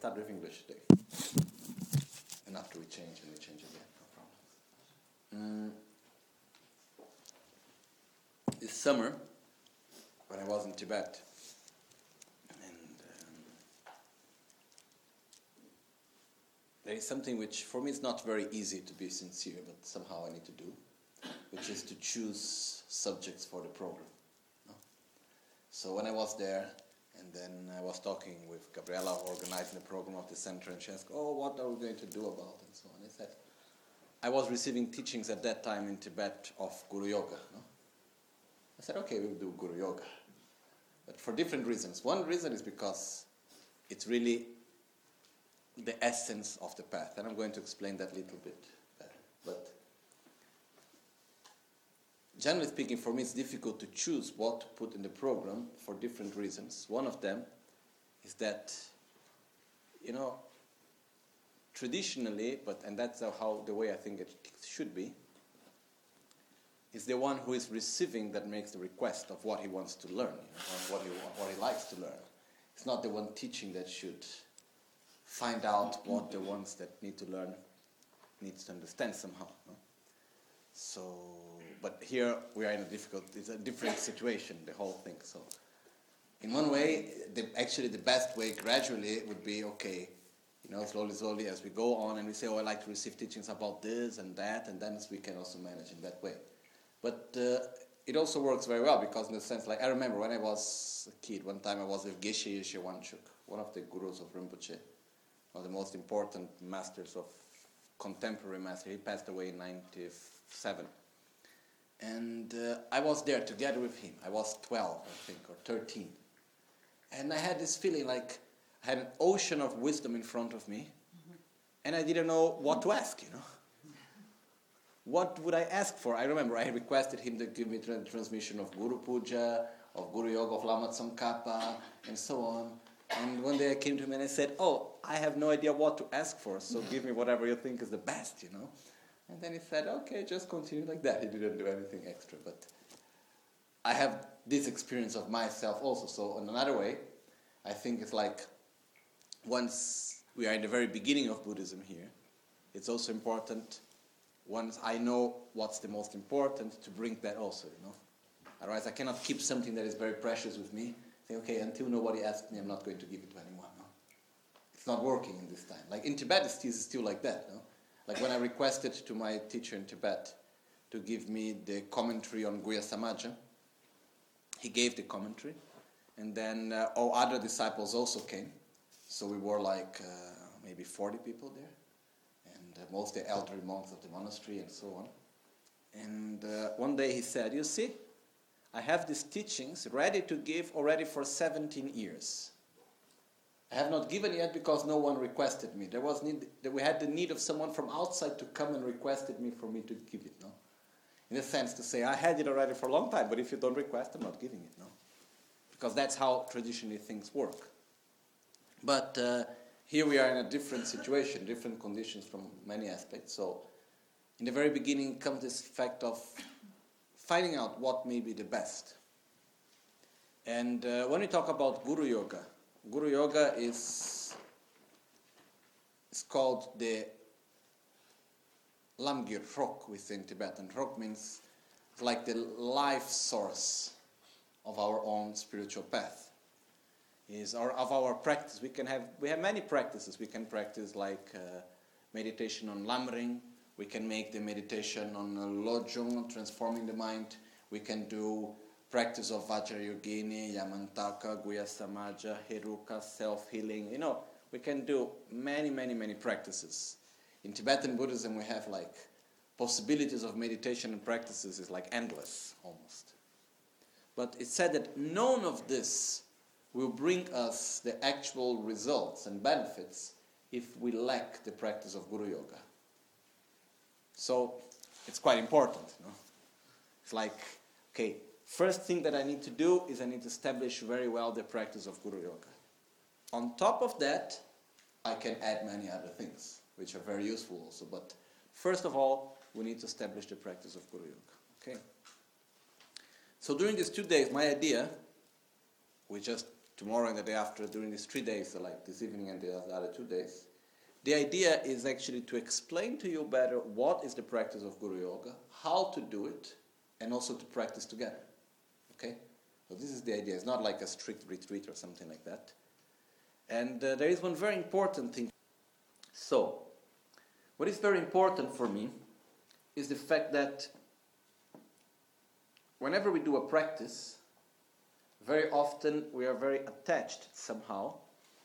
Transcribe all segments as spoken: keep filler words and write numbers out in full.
start with English today. And after we change, and we change again, no problem. Mm. This summer, when I was in Tibet, and um, there is something which, for me, it's not very easy to be sincere, but somehow I need to do, which is to choose subjects for the program. No? So when I was there, and then I was talking with Gabriela, organizing the program of the center, and she asked, oh, what are we going to do about it, and so on. I said, I was receiving teachings at that time in Tibet of Guru Yoga. No? I said, okay, we'll do Guru Yoga. But for different reasons. One reason is because it's really the essence of the path, and I'm going to explain that a little bit better. But generally speaking, for me, it's difficult to choose what to put in the program for different reasons. One of them is that, you know, traditionally, but and that's how the way I think it should be, is the one who is receiving that makes the request of what he wants to learn, you know, what he what he likes to learn. It's not the one teaching that should find out what the ones that need to learn needs to understand somehow. No? So. But here we are in a difficult, it's a different situation, the whole thing. So in one way, the, actually the best way gradually would be, okay, you know, slowly, slowly as we go on and we say, oh, I like to receive teachings about this and that, and then we can also manage in that way. But uh, it also works very well because in the sense, like I remember when I was a kid, one time I was with Geshe Yeshe Wanchuk, one of the gurus of Rinpoche, one of the most important masters of contemporary master. He passed away in ninety-seven. And uh, I was there together with him. I was twelve, I think, or thirteen. And I had this feeling like I had an ocean of wisdom in front of me, mm-hmm. and I didn't know what to ask, you know. What would I ask for? I remember I requested him to give me the transmission of Guru Puja, of Guru Yoga, of Lama Tsongkhapa, and so on. And one day I came to him and I said, oh, I have no idea what to ask for, so give me whatever you think is the best, you know. And then he said, okay, just continue like that. He didn't do anything extra. But I have this experience of myself also. So in another way, I think it's like once we are in the very beginning of Buddhism here, it's also important, once I know what's the most important, to bring that also, you know. Otherwise I cannot keep something that is very precious with me. Say, okay, until nobody asks me, I'm not going to give it to anyone. No? It's not working in this time. Like in Tibet, it's still, it's still like that, no? Like when I requested to my teacher in Tibet to give me the commentary on Guhya Samaja, he gave the commentary, and then uh, all other disciples also came. So we were like uh, maybe forty people there, and uh, mostly elderly monks of the monastery and so on. And uh, one day he said, you see, I have these teachings ready to give already for seventeen years. I have not given yet because no one requested me. There was need, we had the need of someone from outside to come and requested me for me to give it, no? In a sense to say, I had it already for a long time, but if you don't request, I'm not giving it, no? Because that's how traditionally things work. But uh, here we are in a different situation, different conditions from many aspects. So in the very beginning comes this fact of finding out what may be the best. And uh, when we talk about Guru Yoga, Guru Yoga is, is called the Lamgir, Rok within Tibetan. Rok means like the life source of our own spiritual path. Is our, of our practice. We can have we have many practices. We can practice like uh, meditation on Lamrim. We can make the meditation on uh, Lojong, transforming the mind. We can do practice of Vajrayogini, Yamantaka, Guhya Samaja, Heruka, self-healing. You know, we can do many, many, many practices. In Tibetan Buddhism, we have like possibilities of meditation and practices is like endless, almost. But it's said that none of this will bring us the actual results and benefits if we lack the practice of Guru Yoga. So, it's quite important, you know. It's like, okay, first thing that I need to do is I need to establish very well the practice of Guru Yoga. On top of that, I can add many other things, which are very useful also. But first of all, we need to establish the practice of Guru Yoga. Okay. So during these two days, my idea, we just tomorrow and the day after, during these three days, so like this evening and the other two days, the idea is actually to explain to you better what is the practice of Guru Yoga, how to do it, and also to practice together. Okay? So this is the idea. It's not like a strict retreat or something like that. And uh, there is one very important thing. So, what is very important for me is the fact that whenever we do a practice, very often we are very attached somehow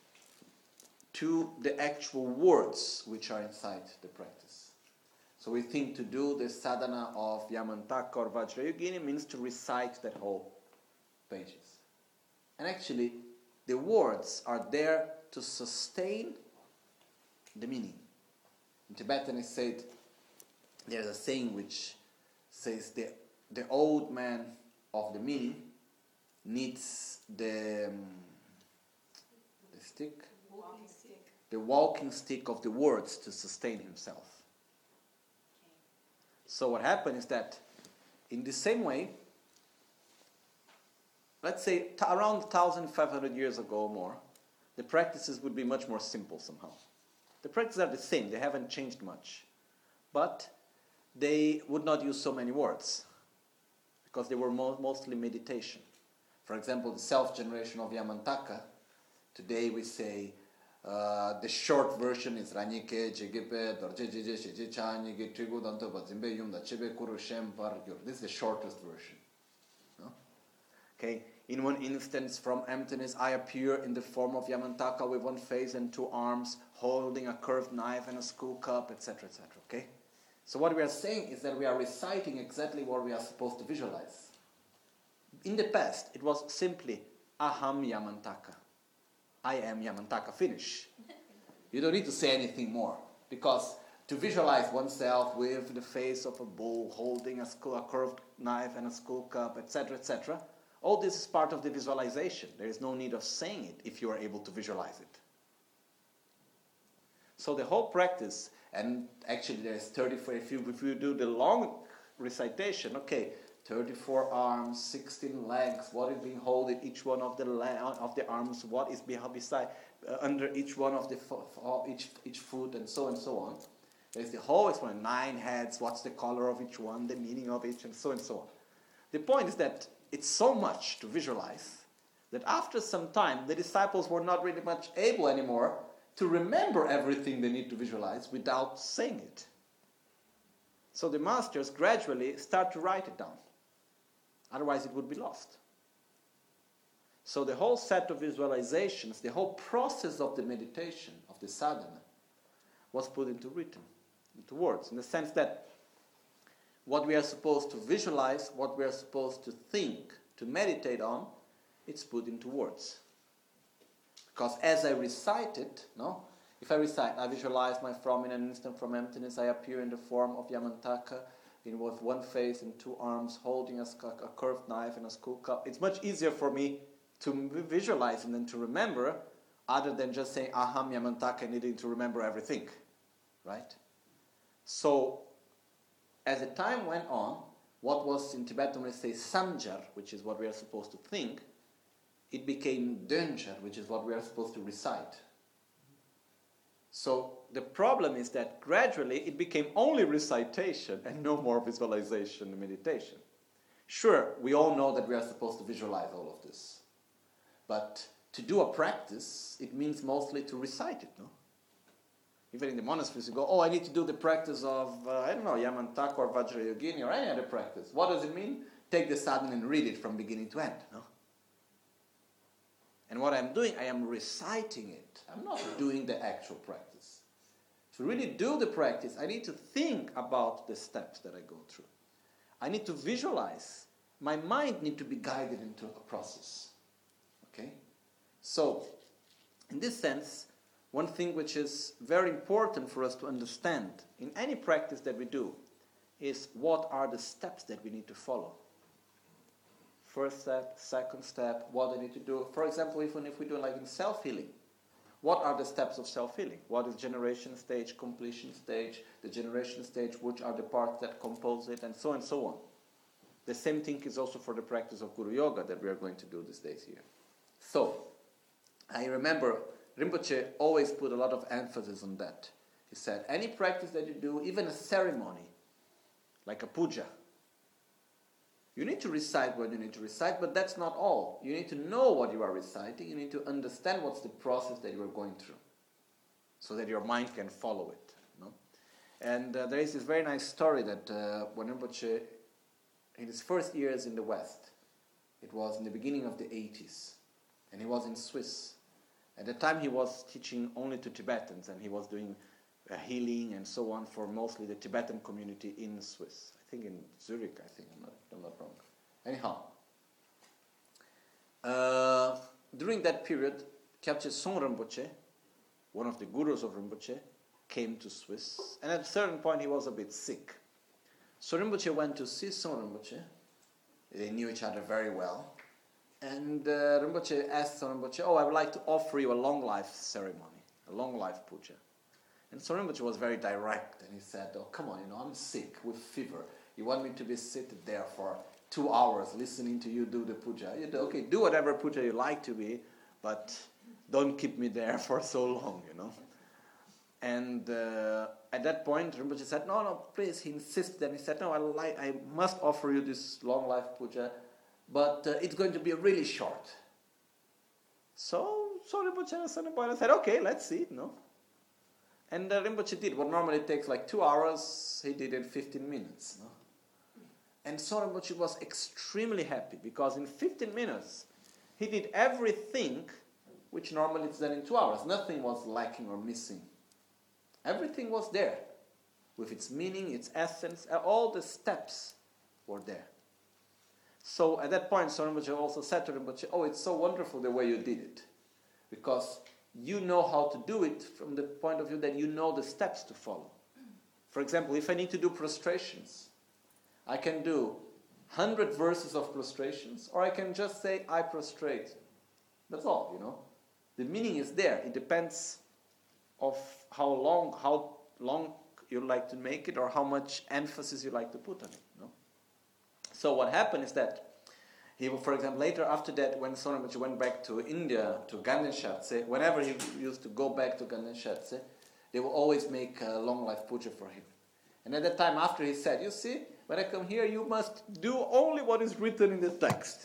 to the actual words which are inside the practice. So we think to do the sadhana of Yamantaka or Vajrayogini means to recite that whole pages. And actually, the words are there to sustain the meaning. In Tibetan it said, there's a saying which says the, the old man of the meaning needs the, um, the stick, Walking stick. the walking stick of the words to sustain himself. Okay. So what happened is that in the same way, let's say t- around one thousand five hundred years ago or more, the practices would be much more simple somehow. The practices are the same, they haven't changed much. But they would not use so many words because they were mo- mostly meditation. For example, the self-generation of Yamantaka, today we say uh, the short version is Ranyike, Jegepe, Dorjejeje, Shejechani, Getrigo, Danto, Bazimbe, Yumda, Chebe, Kuru, Shem, Pargyur. This is the shortest version. No? Okay. In one instance, from emptiness, I appear in the form of Yamantaka with one face and two arms, holding a curved knife and a school cup, et cetera, et cetera. Okay? So what we are saying is that we are reciting exactly what we are supposed to visualize. In the past, it was simply Aham Yamantaka. I am Yamantaka. Finish. You don't need to say anything more, because to visualize oneself with the face of a bull, holding a, school, a curved knife and a school cup, et cetera, et cetera, all this is part of the visualization. There is no need of saying it if you are able to visualize it. So the whole practice, and actually there's thirty-four, if you, if you do the long recitation, okay, thirty-four arms, sixteen legs, what is being holding each one of the la- of the arms, what is behind, beside, uh, under each one of the fo- fo- each each foot, and so and so on. There's the whole explanation, nine heads, what's the color of each one, the meaning of each, and so and so on. The point is that it's so much to visualize that after some time the disciples were not really much able anymore to remember everything they need to visualize without saying it. So the masters gradually start to write it down. Otherwise it would be lost. So the whole set of visualizations, the whole process of the meditation, of the sadhana, was put into written, into words, in the sense that what we are supposed to visualize, what we are supposed to think, to meditate on, it's put into words. Because as I recite it, no, if I recite, I visualize my from in an instant from emptiness, I appear in the form of Yamantaka, in with one face and two arms, holding a, a curved knife and a school cup. It's much easier for me to visualize and then to remember, other than just saying Aham Yamantaka and needing to remember everything, right? So, as the time went on, what was in Tibetan we say samjar, which is what we are supposed to think, it became dönjar, which is what we are supposed to recite. So the problem is that gradually it became only recitation and no more visualization and meditation. Sure, we all know that we are supposed to visualize all of this. But to do a practice, it means mostly to recite it, no? Even in the monasteries, you go, oh, I need to do the practice of, uh, I don't know, Yamantaka or Vajrayogini or any other practice. What does it mean? Take the sadhana and read it from beginning to end, no? And what I'm doing, I am reciting it. I'm not doing the actual practice. To really do the practice, I need to think about the steps that I go through. I need to visualize. My mind needs to be guided into a process. Okay? So, in this sense, one thing which is very important for us to understand in any practice that we do is what are the steps that we need to follow. First step, second step, what I need to do. For example, even if we do like in self-healing, what are the steps of self-healing? What is generation stage, completion stage, the generation stage, which are the parts that compose it, and so on and so on. The same thing is also for the practice of Guru Yoga that we are going to do these days here. So, I remember Rinpoche always put a lot of emphasis on that. He said, any practice that you do, even a ceremony, like a puja, you need to recite what you need to recite, but that's not all. You need to know what you are reciting. You need to understand what's the process that you are going through, so that your mind can follow it. You know? And uh, there is this very nice story that uh, when Rinpoche, in his first years in the West, it was in the beginning of the eighties, and he was in Swiss. At the time he was teaching only to Tibetans, and he was doing uh, healing and so on for mostly the Tibetan community in Swiss. I think in Zurich, I think, I'm not, I'm not wrong. Anyhow, uh, during that period, Kyabche Song Rinpoche, one of the gurus of Rinpoche, came to Swiss, and at a certain point he was a bit sick. So Rinpoche went to see Song Rinpoche. They knew each other very well. And uh, Rinpoche asked Song Rinpoche, oh, I would like to offer you a long life ceremony, a long life puja. And Song Rinpoche was very direct, and he said, oh, come on, you know, I'm sick with fever. You want me to be seated there for two hours listening to you do the puja? You do, okay, do whatever puja you like to be, but don't keep me there for so long, you know. And uh, at that point, Rinpoche said, no, no, please. He insisted, and he said, no, I, like, I must offer you this long life puja, but uh, it's going to be really short. So, so Rinpoche said, okay, let's see, no. And uh, Rinpoche did what normally takes like two hours, he did in fifteen minutes, no. And so Rinpoche was extremely happy, because in fifteen minutes, he did everything which normally is done in two hours. Nothing was lacking or missing. Everything was there, with its meaning, its essence, all the steps were there. So at that point, Song Rinpoche also said to Rinpoche, oh, it's so wonderful the way you did it, because you know how to do it from the point of view that you know the steps to follow. For example, if I need to do prostrations, I can do one hundred verses of prostrations, or I can just say, I prostrate. That's all, you know. The meaning is there. It depends of how long, how long you like to make it, or how much emphasis you like to put on it. You know? So what happened is that he, for example, later after that, when Song Rinpoche went back to India, to Ganden Shatse, whenever he used to go back to Ganden Shatse, they will always make a long life puja for him. And at that time, after he said, you see, when I come here, you must do only what is written in the text.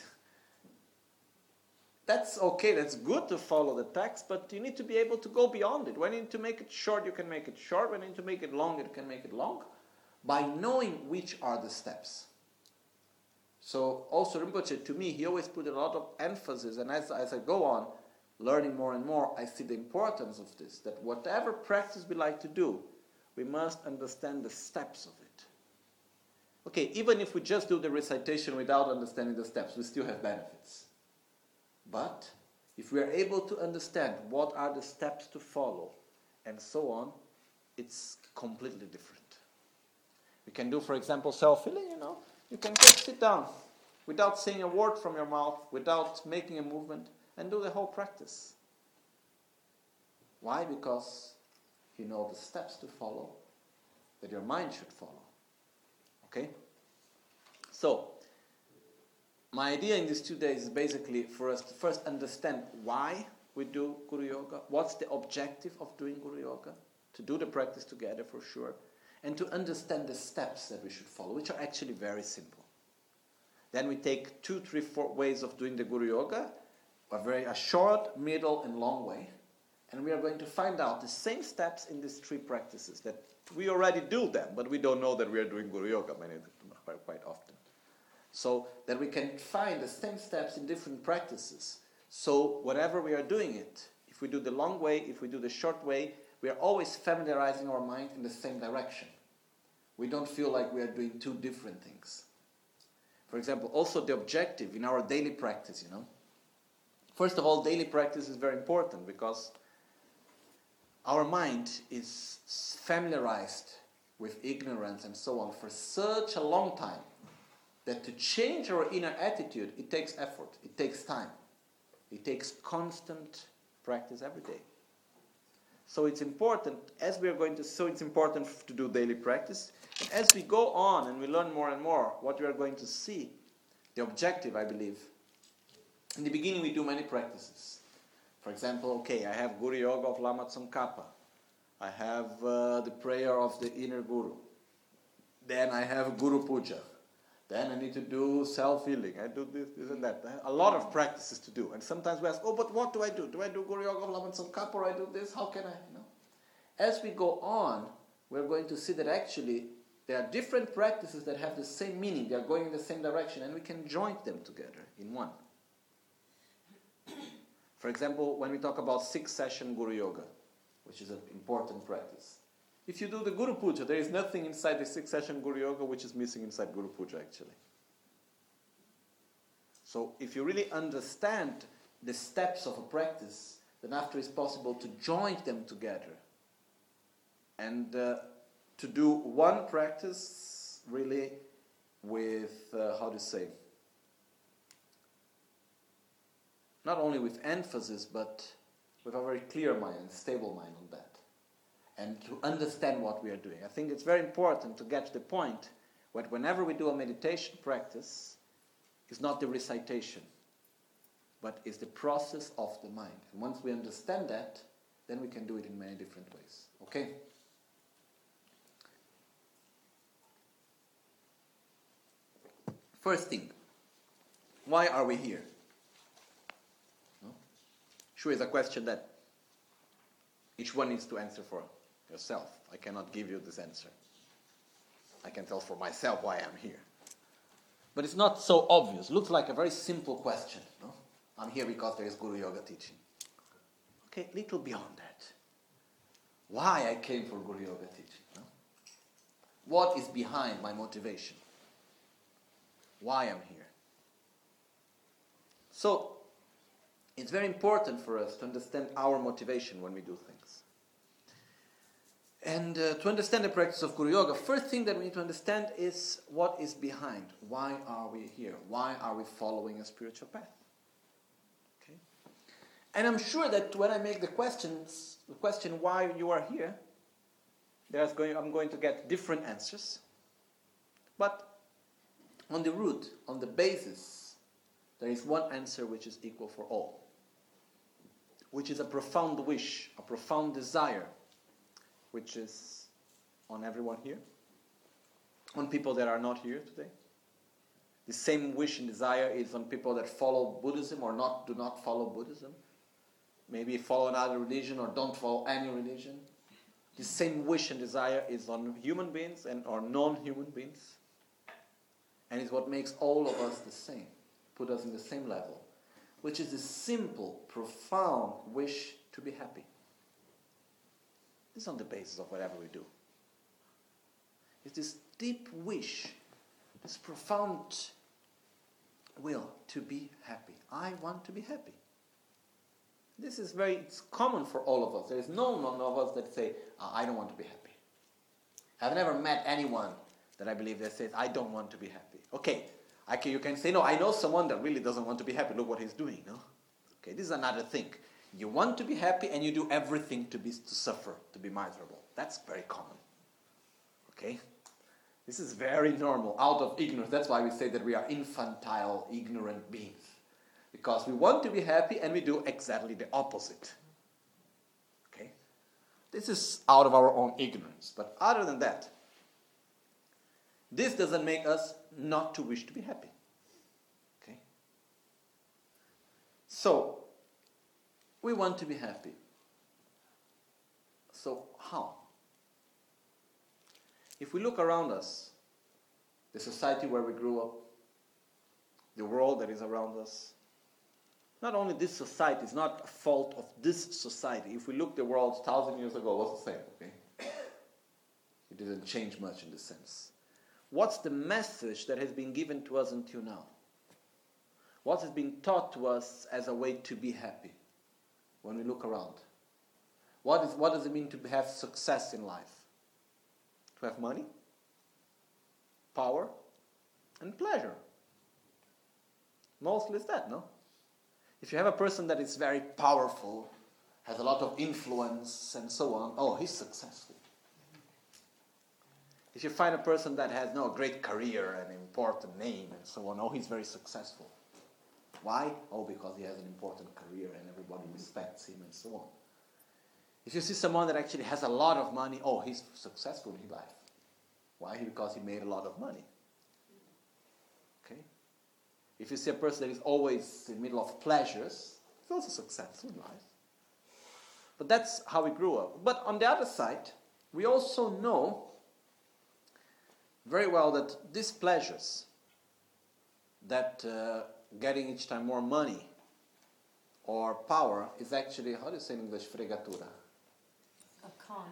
That's okay, that's good to follow the text, but you need to be able to go beyond it. When you need to make it short, you can make it short. When you need to make it long, you can make it long, by knowing which are the steps. So also Rinpoche, to me, he always put a lot of emphasis, and as, as I go on, learning more and more, I see the importance of this, that whatever practice we like to do, we must understand the steps of it. Okay, even if we just do the recitation without understanding the steps, we still have benefits. But if we are able to understand what are the steps to follow, and so on, it's completely different. We can do, for example, self-healing, you know. You can just sit down without saying a word from your mouth, without making a movement, and do the whole practice. Why? Because you know the steps to follow, that your mind should follow. Okay? So, my idea in these two days is basically for us to first understand why we do Guru Yoga, what's the objective of doing Guru Yoga, to do the practice together for sure, and to understand the steps that we should follow, which are actually very simple. Then we take two, three, four ways of doing the Guru Yoga, a very a short, middle, and long way, and we are going to find out the same steps in these three practices that we already do them, but we don't know that we are doing Guru Yoga many quite often. So that we can find the same steps in different practices. So whatever we are doing it, if we do the long way, if we do the short way, we are always familiarizing our mind in the same direction. We don't feel like we are doing two different things. For example, also the objective in our daily practice, you know. First of all, daily practice is very important because our mind is familiarized with ignorance and so on for such a long time that to change our inner attitude, it takes effort, it takes time. It takes constant practice every day. So it's important, as we are going to, so it's important to do daily practice. And as we go on and we learn more and more, what we are going to see, the objective, I believe, in the beginning we do many practices. For example, okay, I have Guru Yoga of Lama Tsongkhapa. I have uh, the prayer of the inner Guru. Then I have Guru Puja. Then I need to do self-healing. I do this, this and that. I have a lot of practices to do. And sometimes we ask, oh, but what do I do? Do I do Guru Yoga of Lama Tsongkhapa or I do this? How can I? You know? As we go on, we're going to see that actually there are different practices that have the same meaning. They are going in the same direction and we can join them together in one. For example, when we talk about six-session Guru Yoga, which is an important practice. If you do the Guru Puja, there is nothing inside the six-session Guru Yoga which is missing inside Guru Puja actually. So if you really understand the steps of a practice, then after it's possible to join them together and uh, to do one practice really with, uh, how to say, not only with emphasis, but with a very clear mind and stable mind on that. And to understand what we are doing. I think it's very important to get to the point that whenever we do a meditation practice, it's not the recitation, but it's the process of the mind. And once we understand that, then we can do it in many different ways. Okay? First thing, why are we here? No? Sure, it's a question that each one needs to answer for yourself. I cannot give you this answer. I can tell for myself why I'm here. But it's not so obvious. Looks like a very simple question. No? I'm here because there is Guru Yoga teaching. Okay, little beyond that. Why I came for Guru Yoga teaching? No? What is behind my motivation? Why I'm here? So, it's very important for us to understand our motivation when we do things. And uh, to understand the practice of Guru Yoga, first thing that we need to understand is what is behind. Why are we here? Why are we following a spiritual path? Okay? And I'm sure that when I make the questions, the question why you are here, there's going, I'm going to get different answers. But on the root, on the basis, there is one answer which is equal for all. Which is a profound wish, a profound desire, which is on everyone here, on people that are not here today. The same wish and desire is on people that follow Buddhism or not do not follow Buddhism. Maybe follow another religion or don't follow any religion. The same wish and desire is on human beings and or non-human beings. And it's what makes all of us the same, put us in the same level, which is the simple, profound wish to be happy. This is on the basis of whatever we do. It's this deep wish, this profound will to be happy. I want to be happy. This is very, it's common for all of us. There is no one of us that say, oh, I don't want to be happy. I've never met anyone that I believe that says, I don't want to be happy. Okay, I can, you can say, no, I know someone that really doesn't want to be happy. Look what he's doing, no? Okay, this is another thing. You want to be happy and you do everything to be to suffer, to be miserable. That's very common. Okay? This is very normal, out of ignorance. That's why we say that we are infantile, ignorant beings. Because we want to be happy and we do exactly the opposite. Okay? This is out of our own ignorance. But other than that, this doesn't make us not to wish to be happy. Okay? So, we want to be happy. So, how? If we look around us, the society where we grew up, the world that is around us, not only this society, it's not a fault of this society. If we look the world a thousand years ago, it was the same, okay? It didn't change much in this sense. What's the message that has been given to us until now? What has been taught to us as a way to be happy when we look around? What is what does it mean to have success in life? To have money, power, and pleasure. Mostly it's that, no? If you have a person that is very powerful, has a lot of influence and so on, oh, he's successful. If you find a person that has no great career and important name and so on, oh, he's very successful. Why? Oh, because he has an important career and everybody respects him and so on. If you see someone that actually has a lot of money, oh, he's successful in his life. Why? Because he made a lot of money. Okay? If you see a person that is always in the middle of pleasures, he's also successful in life. But that's how we grew up. But on the other side, we also know very well that these pleasures, that uh, getting each time more money or power is actually, how do you say in English, fregatura? A con.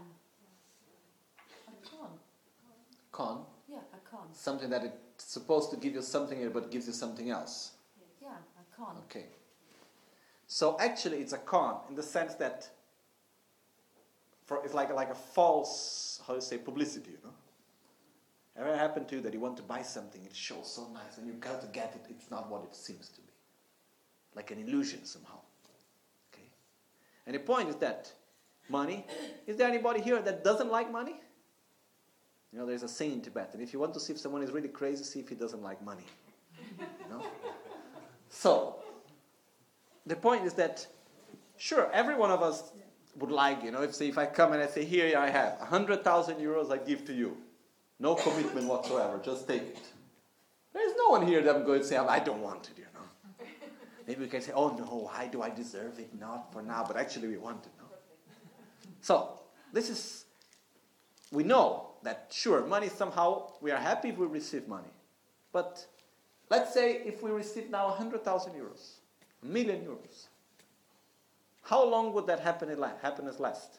A con. Con? Yeah, a con. Something that it's supposed to give you something but gives you something else. Yeah, a con. Okay. So actually it's a con in the sense that for, it's like, like a false, how do you say, publicity, you know? Ever happened to you that you want to buy something, it shows so nice, when you go to get it, it's not what it seems to be. Like an illusion somehow. Okay? And the point is that money, is there anybody here that doesn't like money? You know, there's a saying in Tibetan, if you want to see if someone is really crazy, see if he doesn't like money. You know? So, the point is that, sure, every one of us would like, you know, if say if I come and I say, here I have one hundred thousand euros I give to you. No commitment whatsoever, just take it. There's no one here that I'm going to say, I don't want it, you know. Maybe we can say, oh no, why do I deserve it? Not for now, but actually we want it, no? So, this is, we know that, sure, money somehow, we are happy if we receive money. But let's say if we receive now one hundred thousand euros, a million euros, how long would that happiness last?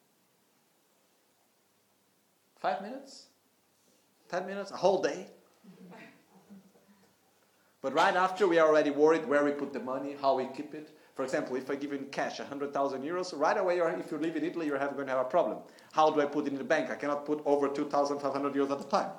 Five minutes? Ten minutes? A whole day? But right after, we are already worried where we put the money, how we keep it. For example, if I give you in cash one hundred thousand euros, right away, you're, if you live in Italy, you're going to have a problem. How do I put it in the bank? I cannot put over two thousand five hundred euros at a time.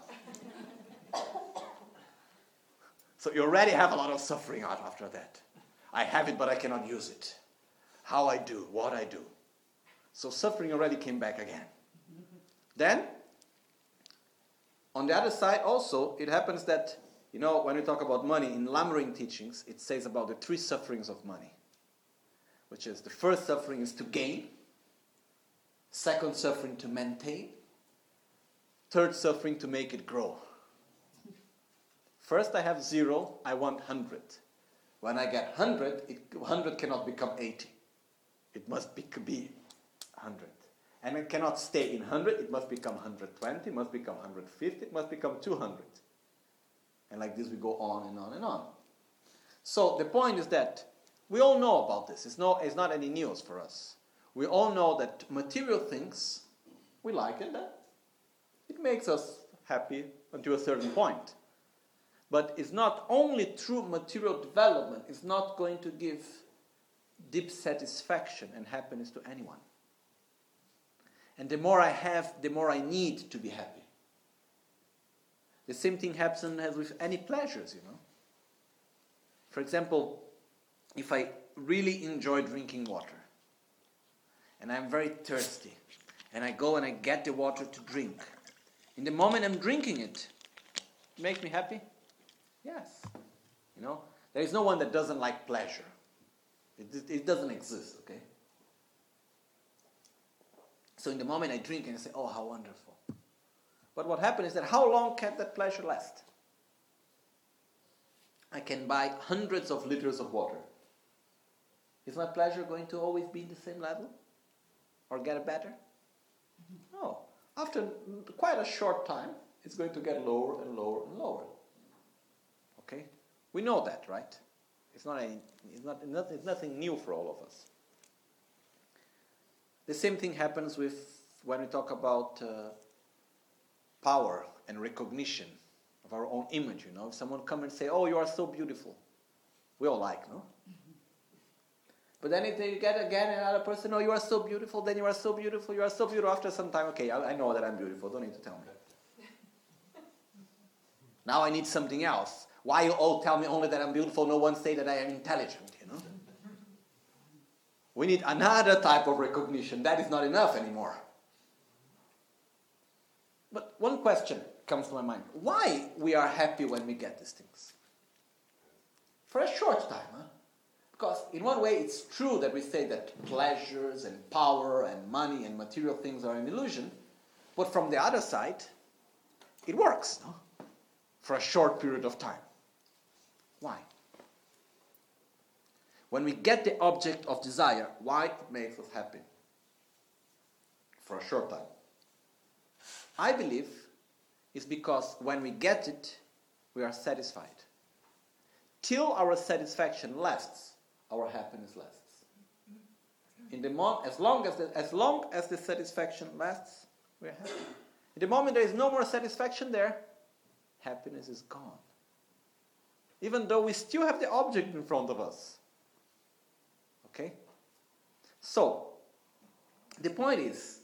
So you already have a lot of suffering out after that. I have it, but I cannot use it. How I do, what I do. So suffering already came back again. Then, on the other side also, it happens that, you know, when we talk about money, in Lamrim teachings, it says about the three sufferings of money. Which is, the first suffering is to gain. Second suffering to maintain. Third suffering to make it grow. First I have zero, I want one hundred. When I get one hundred, it, one hundred cannot become eighty. It must be, be one hundred. And it cannot stay in one hundred, it must become one hundred twenty, it must become one hundred fifty, it must become two hundred. And like this we go on and on and on. So the point is that we all know about this. It's, no, it's not any news for us. We all know that material things, we like it. It makes us happy until a certain point. But it's not only through material development, it's not going to give deep satisfaction and happiness to anyone. And the more I have, the more I need to be happy. The same thing happens as with any pleasures, you know. For example, if I really enjoy drinking water, and I'm very thirsty, and I go and I get the water to drink, in the moment I'm drinking it, it makes me happy? Yes. You know, there is no one that doesn't like pleasure. It, it doesn't exist, okay? So in the moment I drink and I say, oh, how wonderful. But what happens is that how long can that pleasure last? I can buy hundreds of liters of water. Is my pleasure going to always be in the same level? Or get better? No. After quite a short time, it's going to get lower and lower and lower. Okay? We know that, right? It's not, a, it's not, it's nothing new for all of us. The same thing happens with when we talk about uh, power and recognition of our own image, you know. If someone comes and say, oh, you are so beautiful. We all like, no? Mm-hmm. But then if they get again another person, oh, you are so beautiful, then you are so beautiful, you are so beautiful. After some time, okay, I, I know that I'm beautiful. Don't need to tell me. Now I need something else. Why you all tell me only that I'm beautiful? No one say that I am intelligent, you know? We need another type of recognition. That is not enough anymore. But one question comes to my mind. Why we are happy when we get these things? For a short time, huh? Because in one way it's true that we say that pleasures and power and money and material things are an illusion, but from the other side, it works, no? For a short period of time. Why? When we get the object of desire, why it makes us happy? For a short time. I believe it's because when we get it, we are satisfied. Till our satisfaction lasts, our happiness lasts. In the mo- as long as the, as long as the satisfaction lasts, we are happy. In the moment there is no more satisfaction there, happiness is gone. Even though we still have the object in front of us. Okay? So, the point is,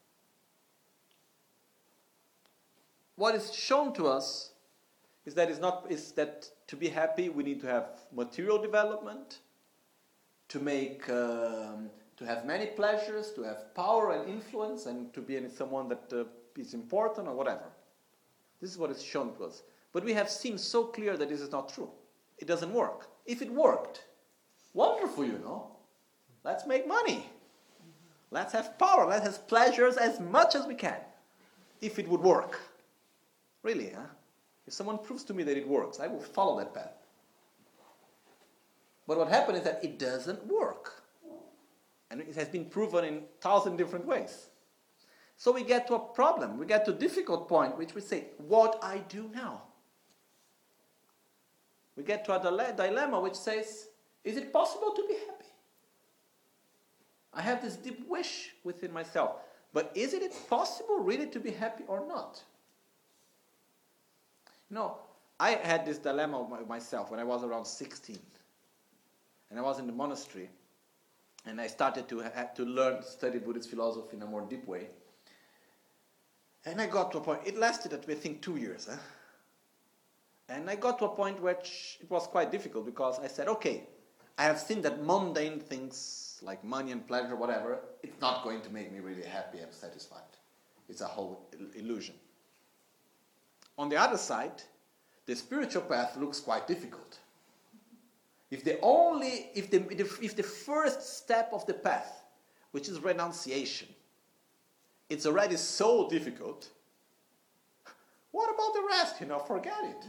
what is shown to us is that, it's not, is that to be happy we need to have material development, to make, um, to have many pleasures, to have power and influence, and to be someone that uh, is important or whatever. This is what is shown to us. But we have seen so clear that this is not true. It doesn't work. If it worked, wonderful, you know. Let's make money. Let's have power. Let's have pleasures as much as we can. If it would work. Really, huh? If someone proves to me that it works, I will follow that path. But what happened is that it doesn't work. And it has been proven in a thousand different ways. So we get to a problem. We get to a difficult point, which we say, what I do now? We get to a dile- dilemma which says, is it possible to be happy? I have this deep wish within myself. But is it possible really to be happy or not? You know, I had this dilemma myself when I was around sixteen. And I was in the monastery. And I started to have to learn, study Buddhist philosophy in a more deep way. And I got to a point, it lasted, I think, two years. Huh? And I got to a point which it was quite difficult because I said, okay, I have seen that mundane things like money and pleasure, whatever, it's not going to make me really happy and satisfied. It's a whole illusion. On the other side, the spiritual path looks quite difficult. If the only, if the, if the first step of the path, which is renunciation, it's already so difficult, what about the rest? You know, forget it.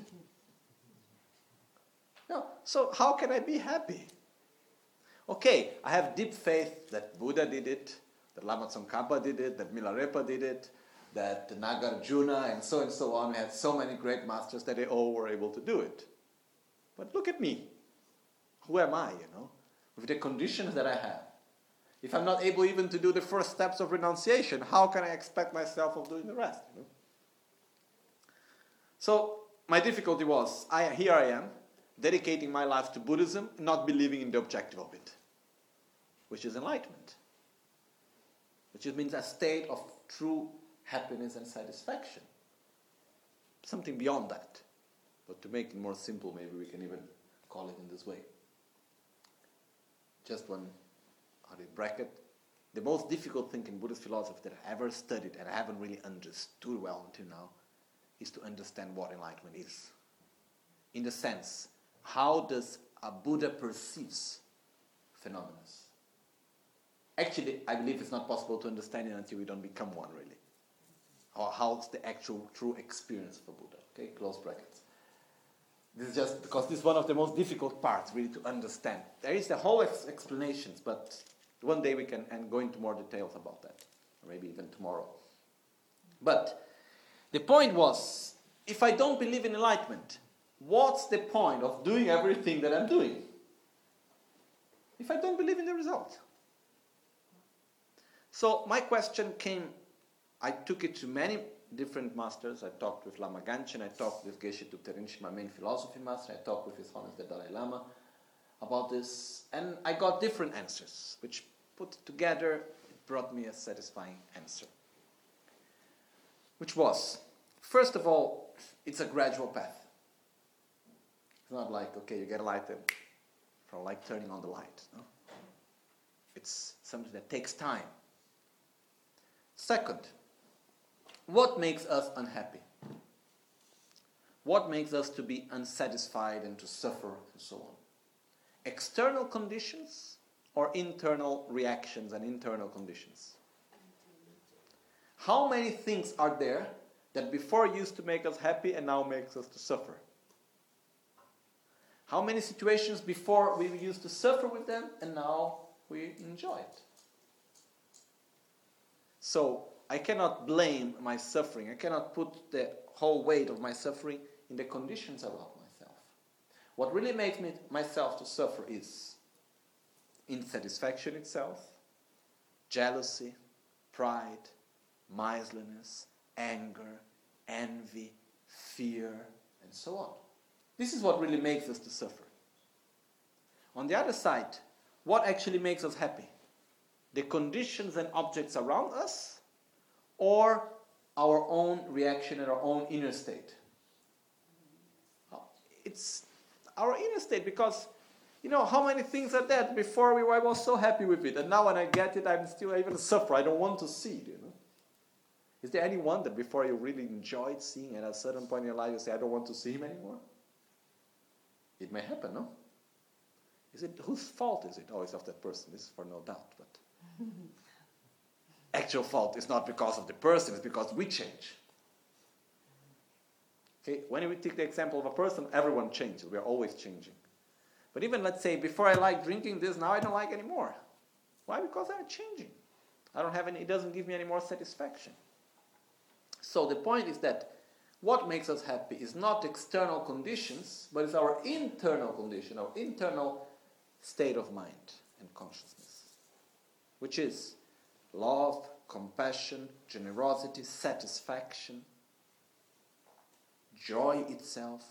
No, so how can I be happy? Okay, I have deep faith that Buddha did it, that Lama Tsongkhapa did it, that Milarepa did it, that Nagarjuna and so and so on. We had so many great masters that they all were able to do it. But look at me. Who am I, you know? With the conditions that I have. If I'm not able even to do the first steps of renunciation, how can I expect myself of doing the rest? You know? So my difficulty was, I, here I am, dedicating my life to Buddhism, not believing in the objective of it, which is enlightenment, which means a state of true happiness and satisfaction. Something beyond that. But to make it more simple, maybe we can even call it in this way. Just one bracket. The most difficult thing in Buddhist philosophy that I ever studied and I haven't really understood well until now is to understand what enlightenment is. In the sense, how does a Buddha perceives phenomena? Actually, I believe it's not possible to understand it until we don't become one, really. Or how's the actual true experience of a Buddha. Okay, close brackets. This is just because this is one of the most difficult parts, really, to understand. There is the whole ex- explanations, but one day we can and go into more details about that, or maybe even tomorrow. But the point was, if I don't believe in enlightenment, what's the point of doing everything that I'm doing? If I don't believe in the result. So my question came, I took it to many different masters. I talked with Lama Ganchen, I talked with Geshe Thupten Rinpoche, my main philosophy master, I talked with His Holiness the Dalai Lama about this, and I got different answers, which put together, it brought me a satisfying answer. Which was, first of all, it's a gradual path. It's not like, okay, you get a light from like turning on the light. No? It's something that takes time. Second, what makes us unhappy? What makes us to be unsatisfied and to suffer and so on? external conditions or internal reactions and internal conditions? How many things are there that before used to make us happy and now makes us to suffer? How many situations before we used to suffer with them and now we enjoy it? So I cannot blame my suffering. I cannot put the whole weight of my suffering in the conditions around myself. What really makes me myself to suffer is insatisfaction itself, jealousy, pride, miserliness, anger, envy, fear, and so on. This is what really makes us to suffer. On the other side, what actually makes us happy? The conditions and objects around us, or our own reaction and our own inner state? It's our inner state, because, you know, how many things are there before we I was so happy with it, and now when I get it, I'm still I even suffer. I don't want to see it, you know. Is there anyone that before you really enjoyed seeing, and at a certain point in your life you say, I don't want to see him anymore? It may happen, no? Is it, whose fault is it? Oh, it's of that person. This is for no doubt, but actual fault is not because of the person, it's because we change. Okay, when we take the example of a person, everyone changes. We are always changing. But even, let's say, before I liked drinking this, now I don't like anymore. Why? Because I'm changing. I don't have any, it doesn't give me any more satisfaction. So the point is that what makes us happy is not external conditions, but it's our internal condition, our internal state of mind and consciousness, which is love, compassion, generosity, satisfaction, joy itself,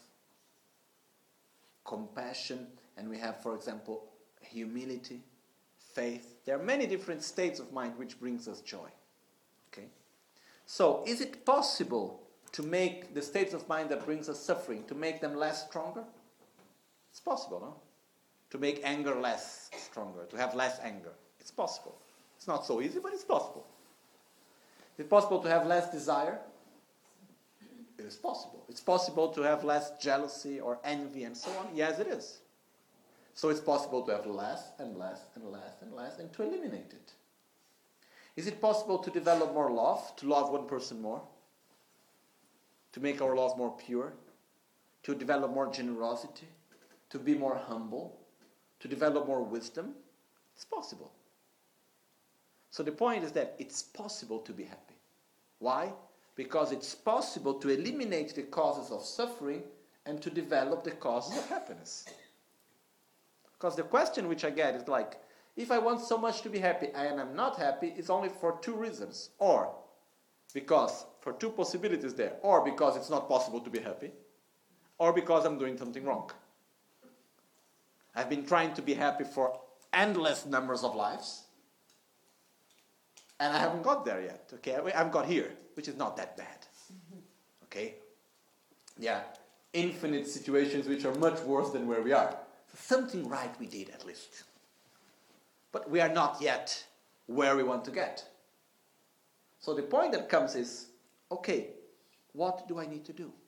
compassion, and we have, for example, humility, faith. There are many different states of mind which brings us joy. Okay? So, is it possible to make the states of mind that brings us suffering, to make them less stronger? It's possible, no? To make anger less stronger, to have less anger. It's possible. It's not so easy, but it's possible. Is it possible to have less desire? It is possible. It's possible to have less jealousy or envy and so on? Yes, it is. So it's possible to have less and less and less and less and to eliminate it. Is it possible to develop more love, to love one person more? To make our love more pure? To develop more generosity? To be more humble? To develop more wisdom? It's possible. So the point is that it's possible to be happy. Why? Because it's possible to eliminate the causes of suffering and to develop the causes of happiness. Because the question which I get is like, if I want so much to be happy and I'm not happy, it's only for two reasons. Or because, for two possibilities there, or because it's not possible to be happy, or because I'm doing something wrong. I've been trying to be happy for endless numbers of lives, and I haven't got there yet. Okay, I've got here, which is not that bad. Okay? Yeah, infinite situations which are much worse than where we are. So something right we did at least. But we are not yet where we want to get. So the point that comes is, okay, what do I need to do?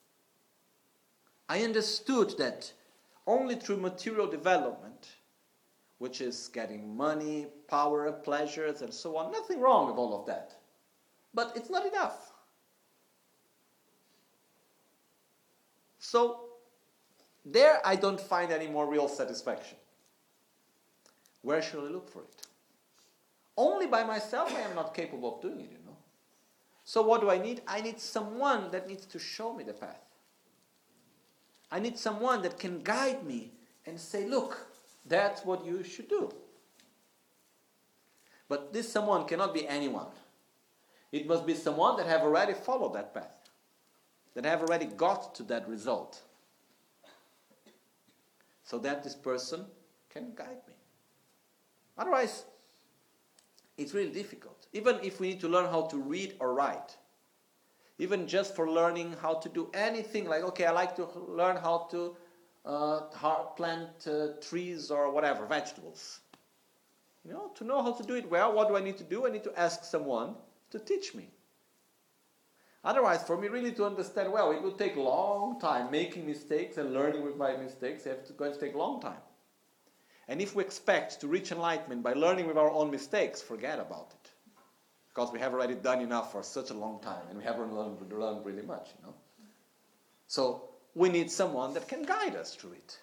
I understood that only through material development, which is getting money, power, pleasures, and so on, nothing wrong with all of that. But it's not enough. So, there I don't find any more real satisfaction. Where should I look for it? Only by myself I am not capable of doing it, you know. So what do I need? I need someone that needs to show me the path. I need someone that can guide me and say, look, that's what you should do. But this someone cannot be anyone. It must be someone that have already followed that path, that have already got to that result, so that this person can guide me. Otherwise, it's really difficult. Even if we need to learn how to read or write, even just for learning how to do anything, like, okay, I like to learn how to uh, plant uh, trees or whatever, vegetables. You know, to know how to do it well, what do I need to do? I need to ask someone to teach me. Otherwise, for me really to understand well, it will take a long time. Making mistakes and learning with my mistakes, it's going to take a long time. And if we expect to reach enlightenment by learning with our own mistakes, forget about it. Because we have already done enough for such a long time, and we haven't learned, learned really much, you know. So we need someone that can guide us through it.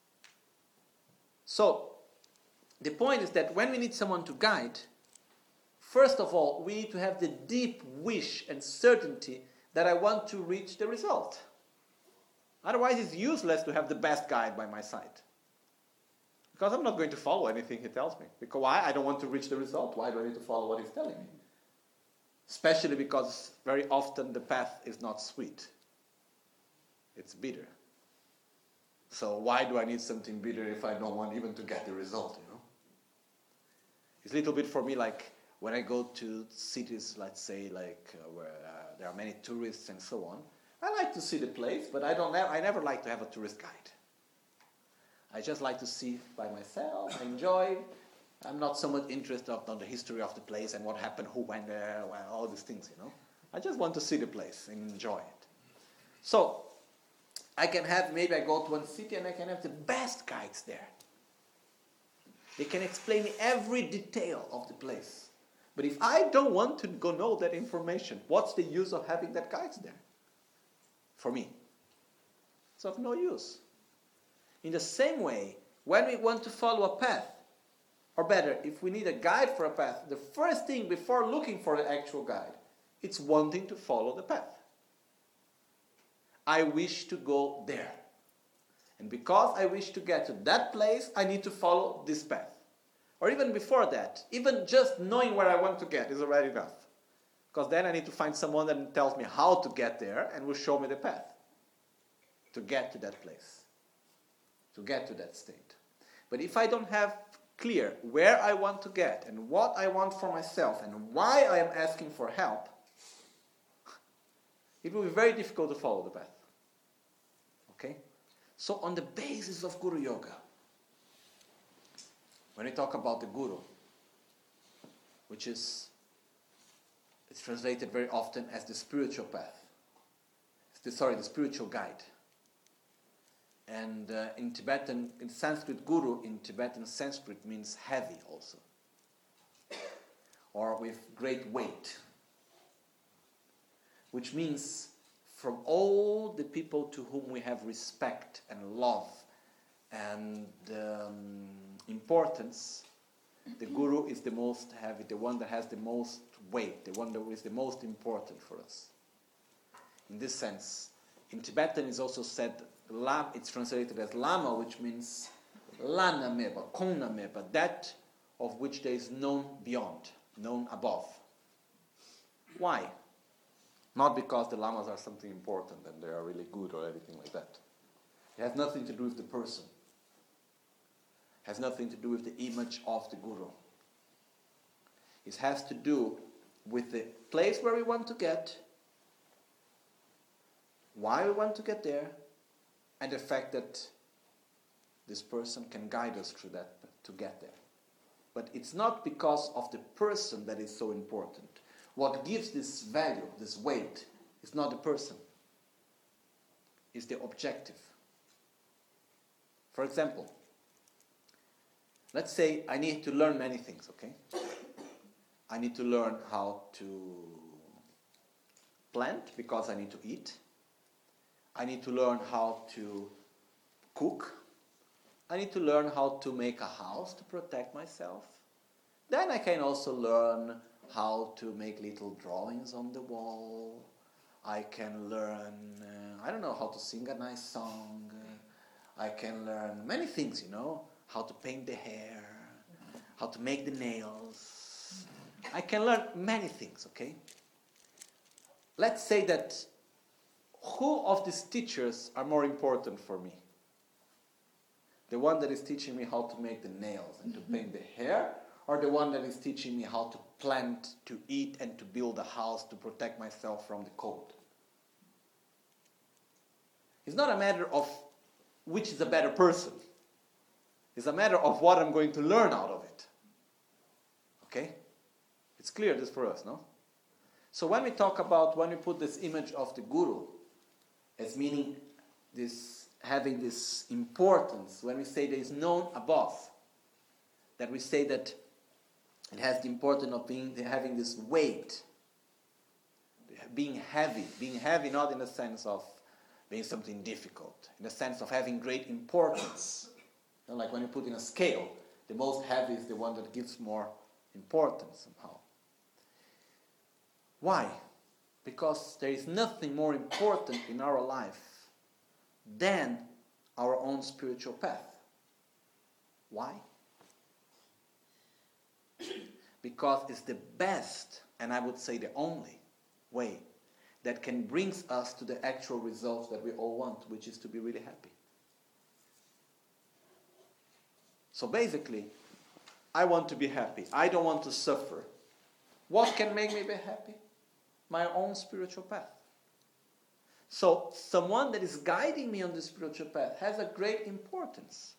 So the point is that when we need someone to guide, first of all, we need to have the deep wish and certainty that I want to reach the result. Otherwise, it's useless to have the best guide by my side. Because I'm not going to follow anything he tells me. Because why? I don't want to reach the result. Why do I need to follow what he's telling me? Especially because very often the path is not sweet. It's bitter. So why do I need something bitter if I don't want even to get the result, you know? It's a little bit for me like when I go to cities, let's say, like uh, where uh, there are many tourists and so on. I like to see the place, but I don't. I never like to have a tourist guide. I just like to see by myself, enjoy. I'm not so much interested in the history of the place and what happened, who went there, well, all these things, you know. I just want to see the place and enjoy it. So I can have, maybe I go to one city and I can have the best guides there. They can explain every detail of the place. But if I don't want to go know that information, what's the use of having that guides there? For me, it's of no use. In the same way, when we want to follow a path, or better, if we need a guide for a path, the first thing before looking for the actual guide, it's wanting to follow the path. I wish to go there. And because I wish to get to that place, I need to follow this path. Or even before that, even just knowing where I want to get is already enough. Because then I need to find someone that tells me how to get there and will show me the path to get to that place, to get to that state. But if I don't have clear where I want to get and what I want for myself and why I am asking for help, it will be very difficult to follow the path. Okay? So on the basis of Guru Yoga, when we talk about the Guru, which is it's translated very often as the spiritual path. It's the, sorry, the spiritual guide. And uh, in Tibetan, in Sanskrit, Guru in Tibetan Sanskrit means heavy also. Or with great weight. Which means from all the people to whom we have respect and love and um, importance, the Guru is the most heavy, the one that has the most weight, the one that is the most important for us. In this sense, in Tibetan it's also said, it's translated as Lama, which means Lana Meba, Kona Meba, that of which there is known beyond, known above. Why? Not because the Lamas are something important and they are really good or anything like that. It has nothing to do with the person. It has nothing to do with the image of the Guru. It has to do with the place where we want to get, why we want to get there, and the fact that this person can guide us through that to get there. But it's not because of the person that is so important. What gives this value, this weight, is not the person. It's the objective. For example, let's say I need to learn many things, okay? I need to learn how to plant because I need to eat. I need to learn how to cook. I need to learn how to make a house to protect myself. Then I can also learn how to make little drawings on the wall. I can learn, uh, I don't know, how to sing a nice song. Uh, I can learn many things, you know, how to paint the hair, how to make the nails. I can learn many things, okay? Let's say that who of these teachers are more important for me? The one that is teaching me how to make the nails and to paint the hair, or the one that is teaching me how to plant, to eat, and to build a house to protect myself from the cold? It's not a matter of which is a better person. It's a matter of what I'm going to learn out of it. Okay? It's clear this for us, no? So when we talk about, when we put this image of the Guru as meaning this, having this importance, when we say there is known above, that we say that it has the importance of being having this weight, being heavy, being heavy not in the sense of being something difficult, in the sense of having great importance. You know, like when you put in a scale, the most heavy is the one that gives more importance somehow. Why? Because there is nothing more important in our life than our own spiritual path. Why? Because it's the best, and I would say the only, way that can bring us to the actual results that we all want, which is to be really happy. So basically, I want to be happy. I don't want to suffer. What can make me be happy? My own spiritual path. So someone that is guiding me on the spiritual path has a great importance.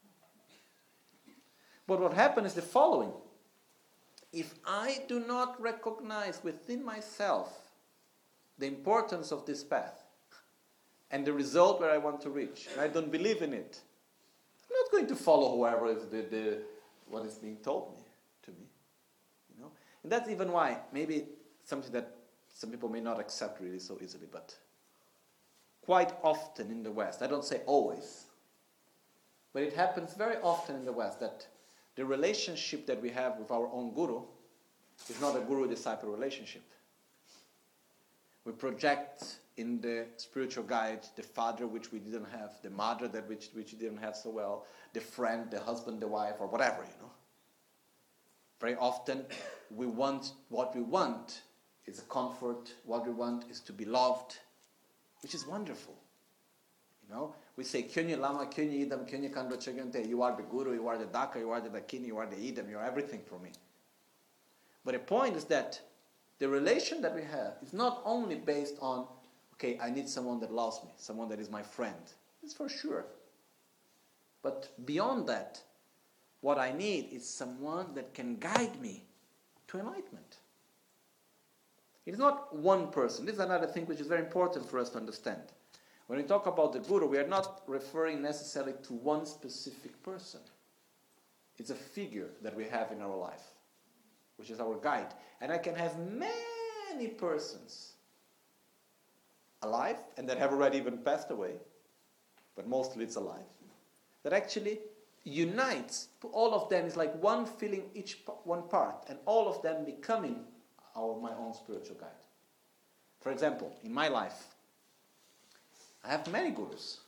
But what happens is the following. If I do not recognize within myself the importance of this path and the result where I want to reach, and I don't believe in it, I'm not going to follow whoever is the, the what is being told me to me. You know? And that's even why, maybe something that some people may not accept really so easily, but quite often in the West, I don't say always, but it happens very often in the West that the relationship that we have with our own guru is not a guru-disciple relationship. We project in the spiritual guide the father which we didn't have, the mother that which, which we didn't have so well, the friend, the husband, the wife, or whatever, you know. Very often we want what we want is a comfort, what we want is to be loved, which is wonderful. You know, we say, Kyunyi Lama, Kyunyi Idam, Kyunyi Kandra Chagyante, you are the Guru, you are the Daka, you are the Dakini, you are the Idam, you are everything for me. But the point is that the relation that we have is not only based on, okay, I need someone that loves me, someone that is my friend. It's for sure. But beyond that, what I need is someone that can guide me to enlightenment. It is not one person. This is another thing which is very important for us to understand. When we talk about the Guru, we are not referring necessarily to one specific person. It's a figure that we have in our life, which is our guide. And I can have many persons alive, and that have already even passed away, but mostly it's alive, that actually unites, all of them is like one filling each one part, and all of them becoming our my own spiritual guide. For example, in my life, I have many gurus.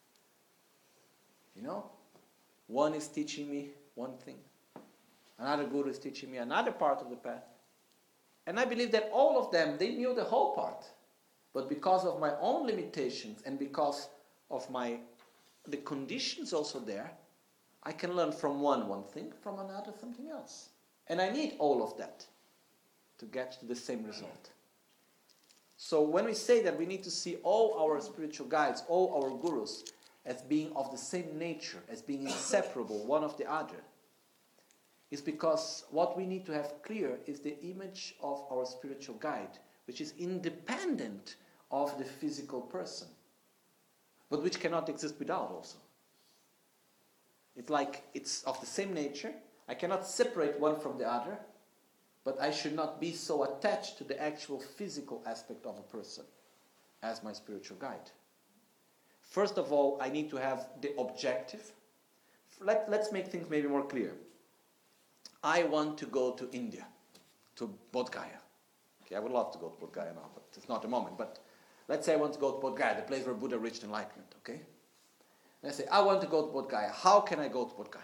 You know, one is teaching me one thing, another guru is teaching me another part of the path, and I believe that all of them, they knew the whole part, but because of my own limitations and because of my the conditions also there, I can learn from one one thing, from another something else, and I need all of that to get to the same result. So when we say that we need to see all our spiritual guides, all our gurus, as being of the same nature, as being inseparable one of the other, is because what we need to have clear is the image of our spiritual guide, which is independent of the physical person, but which cannot exist without also. It's like it's of the same nature. I cannot separate one from the other, but I should not be so attached to the actual physical aspect of a person as my spiritual guide. First of all, I need to have the objective. Let, let's make things maybe more clear. I want to go to India, to Bodh Gaya. Okay, I would love to go to Bodh Gaya now, but it's not the moment. But let's say I want to go to Bodh Gaya, the place where Buddha reached enlightenment, okay? And I say, I want to go to Bodh Gaya. How can I go to Bodh Gaya?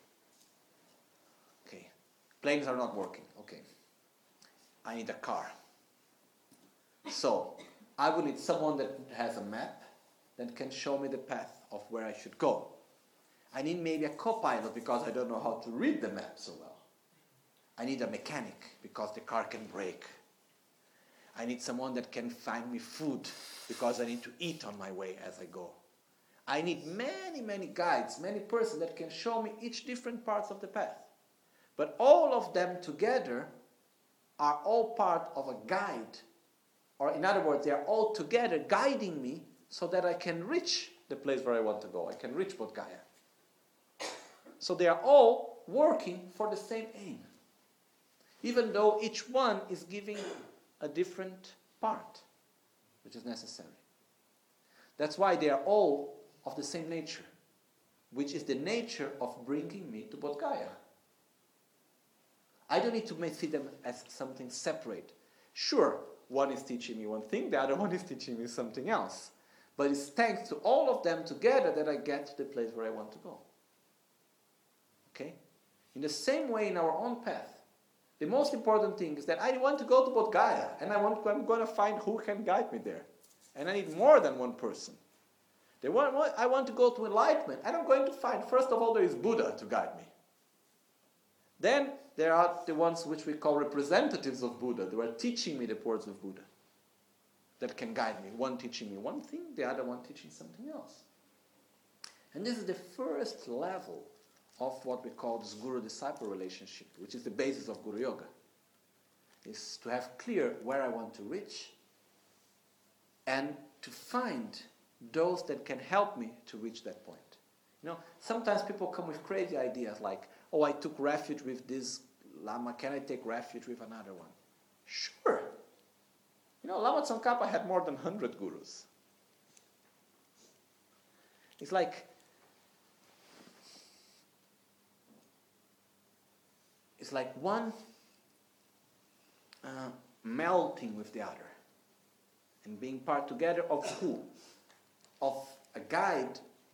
Okay, planes are not working. Okay, I need a car. So, I will need someone that has a map that can show me the path of where I should go. I need maybe a co-pilot because I don't know how to read the map so well. I need a mechanic because the car can break. I need someone that can find me food because I need to eat on my way as I go. I need many, many guides, many persons that can show me each different parts of the path. But all of them together are all part of a guide. Or in other words, they are all together guiding me so that I can reach the place where I want to go. I can reach Bodh Gaya. So they are all working for the same aim, even though each one is giving a different part, which is necessary. That's why they are all of the same nature, which is the nature of bringing me to Bodh Gaya. I don't need to see them as something separate. Sure, one is teaching me one thing, the other one is teaching me something else. But it's thanks to all of them together that I get to the place where I want to go. Okay? In the same way, in our own path, the most important thing is that I want to go to Bodh Gaya, and I want, I'm going to find who can guide me there. And I need more than one person. The one, I want to go to enlightenment, and I'm going to find, first of all, there is Buddha to guide me. Then there are the ones which we call representatives of Buddha. They are teaching me the words of Buddha that can guide me. One teaching me one thing, the other one teaching something else. And this is the first level of what we call this guru-disciple relationship, which is the basis of Guru Yoga. Is to have clear where I want to reach and to find those that can help me to reach that point. You know, sometimes people come with crazy ideas like, oh, I took refuge with this Lama, can I take refuge with another one? Sure. You know, Lama Tsongkhapa had more than one hundred gurus. It's like, it's like one uh, melting with the other and being part together of who? Of a guide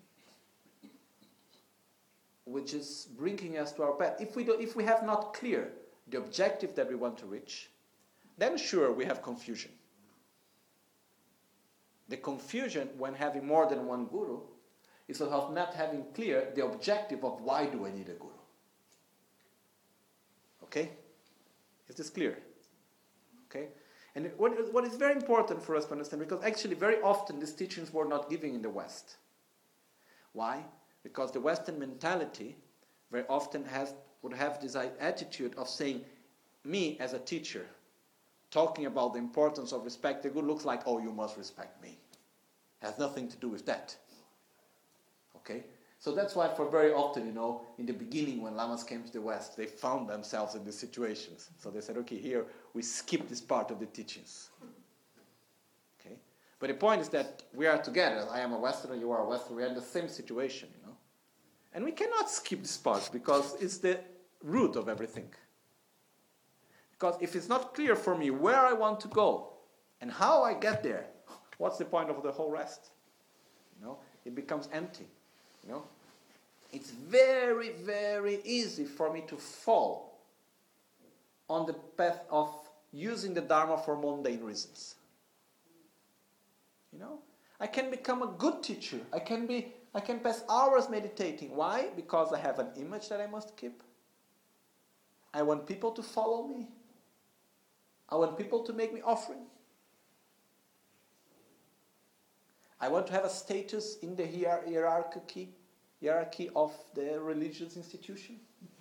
which is bringing us to our path. If we, do, if we have not clear the objective that we want to reach, then sure, we have confusion. The confusion when having more than one guru is of not having clear the objective of why do I need a guru. Okay? Is this clear? Okay? And what, what is very important for us to understand, because actually very often these teachings were not given in the West. Why? Because the Western mentality very often has would have this attitude of saying, me as a teacher, talking about the importance of respect, the guru looks like, oh, you must respect me. Has nothing to do with that. Okay? So that's why for very often, you know, in the beginning when Lamas came to the West, they found themselves in these situations. So they said, okay, here we skip this part of the teachings. Okay? But the point is that we are together. I am a Westerner, you are a Westerner. We are in the same situation, you know. And we cannot skip this part because it's the root of everything. Because if it's not clear for me where I want to go and how I get there, what's the point of the whole rest? You know, it becomes empty. You know, it's very, very easy for me to fall on the path of using the Dharma for mundane reasons. You know, I can become a good teacher. I can be, I can pass hours meditating. Why? Because I have an image that I must keep. I want people to follow me. I want people to make me offering. I want to have a status in the hier- hierarchy, hierarchy of the religious institution.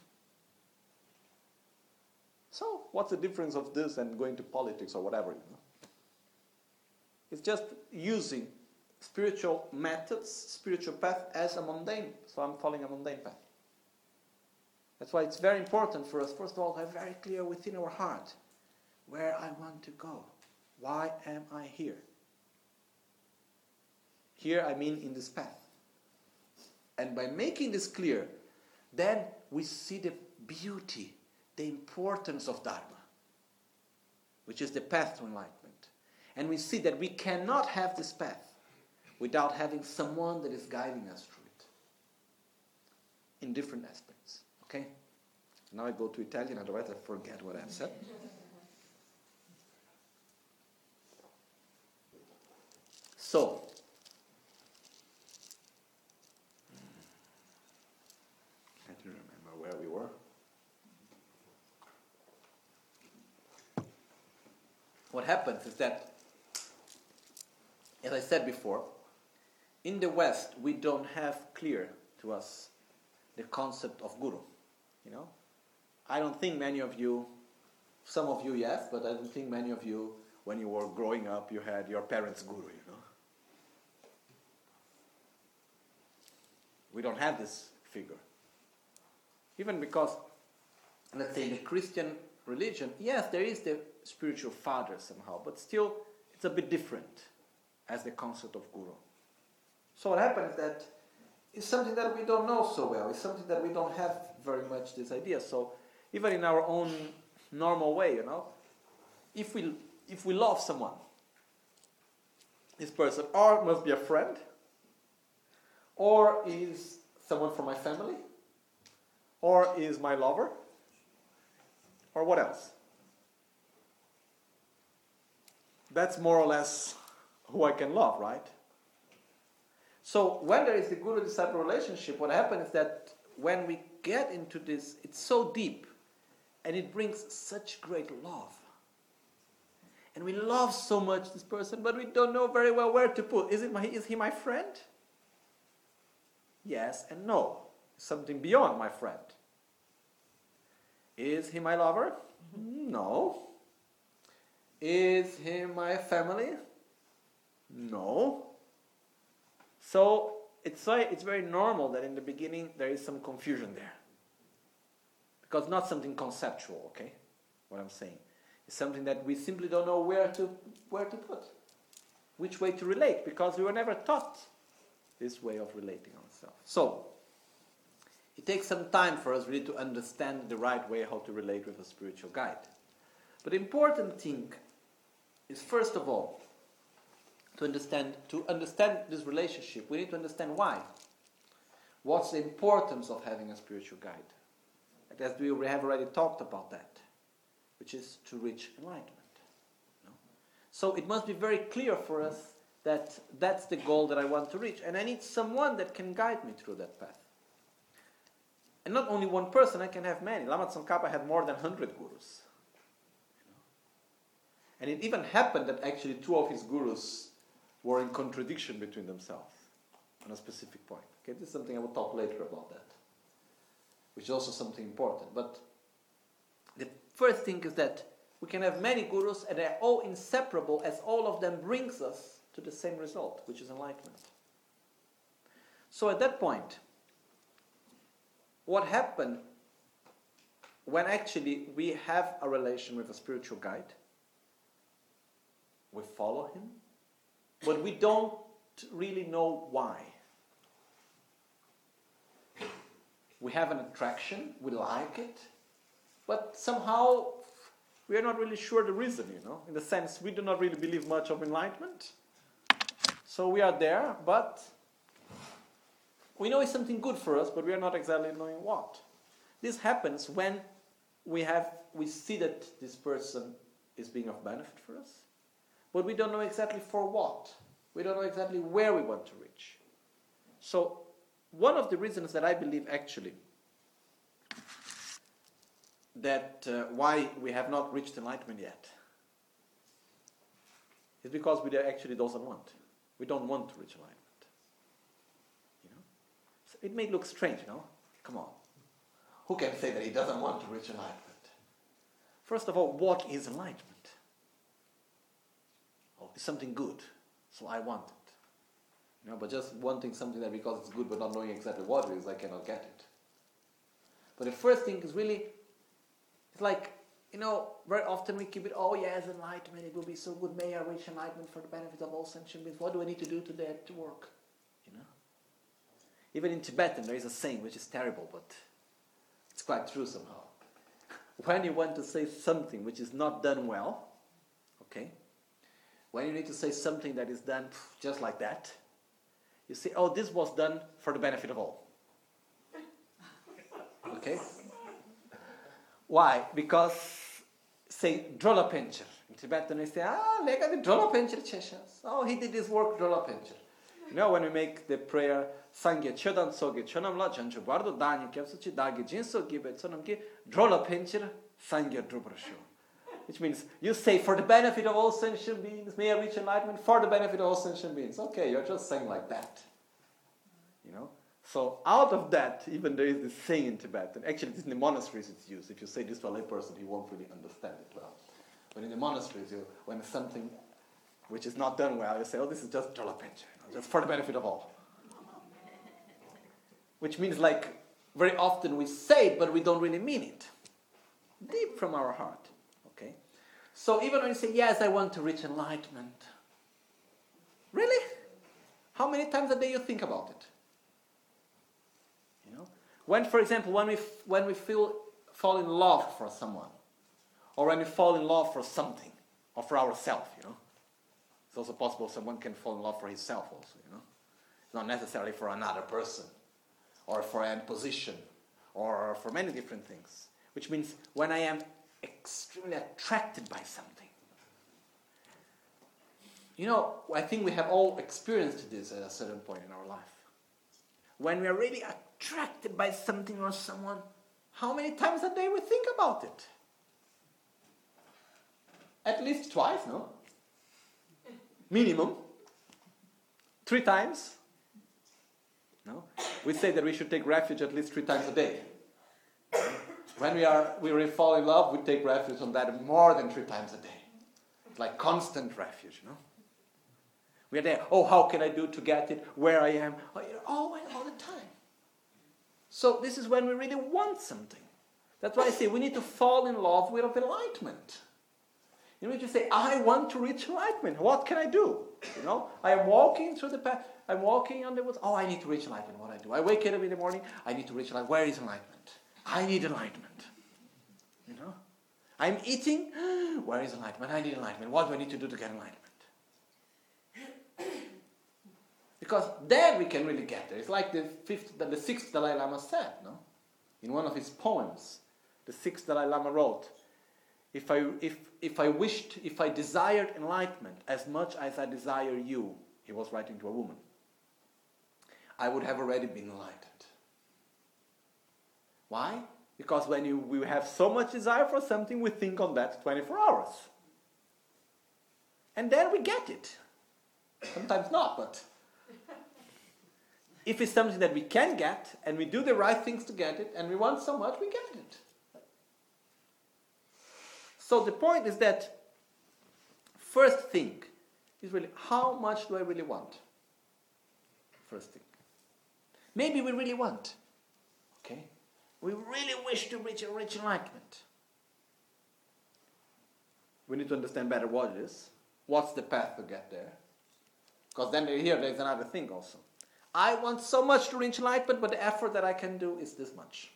So, what's the difference of this and going to politics or whatever? You know? It's just using spiritual methods, spiritual path as a mundane. So I'm following a mundane path. That's why it's very important for us, first of all, to have very clear within our heart where I want to go. Why am I here? Here, I mean in this path. And by making this clear, then we see the beauty, the importance of Dharma, which is the path to enlightenment. And we see that we cannot have this path without having someone that is guiding us through it in different aspects. Okay? Now I go to Italian, otherwise I forget what I've said. So, I can't remember where we were. What happens is that, as I said before, in the West we don't have clear to us the concept of guru. You know, I don't think many of you, some of you yes, but I don't think many of you, when you were growing up, you had your parents' guru. You know, we don't have this figure. Even because, let's say, in the Christian religion, yes, there is the spiritual father somehow, but still it's a bit different as the concept of guru. So what happens is that it's something that we don't know so well. It's something that we don't have very much this idea. So even in our own normal way, you know, if we if we love someone, this person or must be a friend, or is someone from my family, or is my lover, or what else? That's more or less who I can love, right? So when there is the guru-disciple relationship, what happens is that when we get into this, it's so deep, and it brings such great love. And we love so much this person, but we don't know very well where to put. Is it my, is he my friend? Yes and no. Something beyond my friend. Is he my lover? No. Is he my family? No. So it's very, it's very normal that in the beginning there is some confusion there. Because not something conceptual, okay? What I'm saying. It's something that we simply don't know where to where to put. Which way to relate, because we were never taught this way of relating ourselves. So, it takes some time for us really to understand the right way how to relate with a spiritual guide. But the important thing is, first of all, to understand to understand this relationship, we need to understand why. What's the importance of having a spiritual guide? As we have already talked about that, which is to reach enlightenment. You know? So it must be very clear for us that that's the goal that I want to reach, and I need someone that can guide me through that path. And not only one person, I can have many. Lama Tsongkhapa had more than one hundred gurus. You know? And it even happened that actually two of his gurus were in contradiction between themselves on a specific point. Okay, this is something I will talk later about that, which is also something important. But the first thing is that we can have many gurus and they're all inseparable, as all of them brings us to the same result, which is enlightenment. So at that point, what happened when actually we have a relation with a spiritual guide? We follow him, but we don't really know why. We have an attraction, we like it, but somehow we are not really sure the reason, you know. In the sense, we do not really believe much of enlightenment. So we are there, but we know it's something good for us, but we are not exactly knowing what. This happens when we have we see that this person is being of benefit for us, but we don't know exactly for what. We don't know exactly where we want to reach. So one of the reasons that I believe actually that uh, why we have not reached enlightenment yet is because we actually doesn't want. We don't want to reach enlightenment. You know, so it may look strange, you know. Come on, who can say that he doesn't want to reach enlightenment? First of all, what is enlightenment? Oh, it's something good, so I want it. You know, but just wanting something that because it's good but not knowing exactly what it is, I cannot get it. But the first thing is really, it's like, you know, very often we keep it, oh yes, enlightenment, it will be so good, may I reach enlightenment for the benefit of all sentient beings. What do I need to do to that to work? You know? Even in Tibetan there is a saying which is terrible, but it's quite true somehow. When you want to say something which is not done well, okay, when you need to say something that is done just like that, you say, oh, this was done for the benefit of all. Okay? Why? Because, say, Drola Pencher. In Tibetan they say, ah, lega de Drola Pencher cheshas. Oh, he did his work, Drola Pencher. You know, when we make the prayer, Sangye Chodan Soge Chonam La Chanchu Bardo Dani Kepsuchi Dagi Jinso Gibe Sonam Ki Drola Pencher Sangye Drubrasho. Which means you say, for the benefit of all sentient beings, may I reach enlightenment for the benefit of all sentient beings. Okay, you're just saying like that. You know? So out of that, even there is this saying in Tibet, and actually it's in the monasteries it's used. If you say this to a lay person, he won't really understand it well. But in the monasteries, you, when something which is not done well, you say, oh, this is just Drola Pencher, you know, just for the benefit of all. Which means like, very often we say it, but we don't really mean it. Deep from our heart. Okay? So even when you say, yes, I want to reach enlightenment. Really? How many times a day you think about it? You know? When, for example, when we, f- when we feel, fall in love for someone, or when we fall in love for something, or for ourselves, you know. It's also possible someone can fall in love for himself also, you know. It's not necessarily for another person, or for a position, or for many different things. Which means when I am extremely attracted by something. You know, I think we have all experienced this at a certain point in our life. When we are really attracted by something or someone, how many times a day we think about it? At least twice, no? Minimum. Three times. No? We say that we should take refuge at least three times a day. When we are we really fall in love, we take refuge on that more than three times a day. Like constant refuge, you know? We are there, oh, how can I do to get it, where I am, oh, you know, all, all the time. So this is when we really want something. That's why I say we need to fall in love with enlightenment. You need to say, I want to reach enlightenment. What can I do? You know, I am walking through the path. I'm walking on the woods. Oh, I need to reach enlightenment. What I do? I wake up in the morning. I need to reach enlightenment. Where is enlightenment? I need enlightenment. You know, I'm eating. Where is enlightenment? I need enlightenment. What do I need to do to get enlightenment? Because then we can really get there. It's like the fifth, the sixth Dalai Lama said, no, in one of his poems, the sixth Dalai Lama wrote. If I, if, if I wished, if I desired enlightenment as much as I desire you, he was writing to a woman, I would have already been enlightened. Why? Because when you, we have so much desire for something, we think on that twenty-four hours. And then we get it. Sometimes not, but if it's something that we can get, and we do the right things to get it, and we want so much, we get it. So the point is that first thing is really, how much do I really want? First thing. Maybe we really want. Okay? We really wish to reach, reach enlightenment. We need to understand better what it is. What's the path to get there? Because then here there's another thing also. I want so much to reach enlightenment, but the effort that I can do is this much.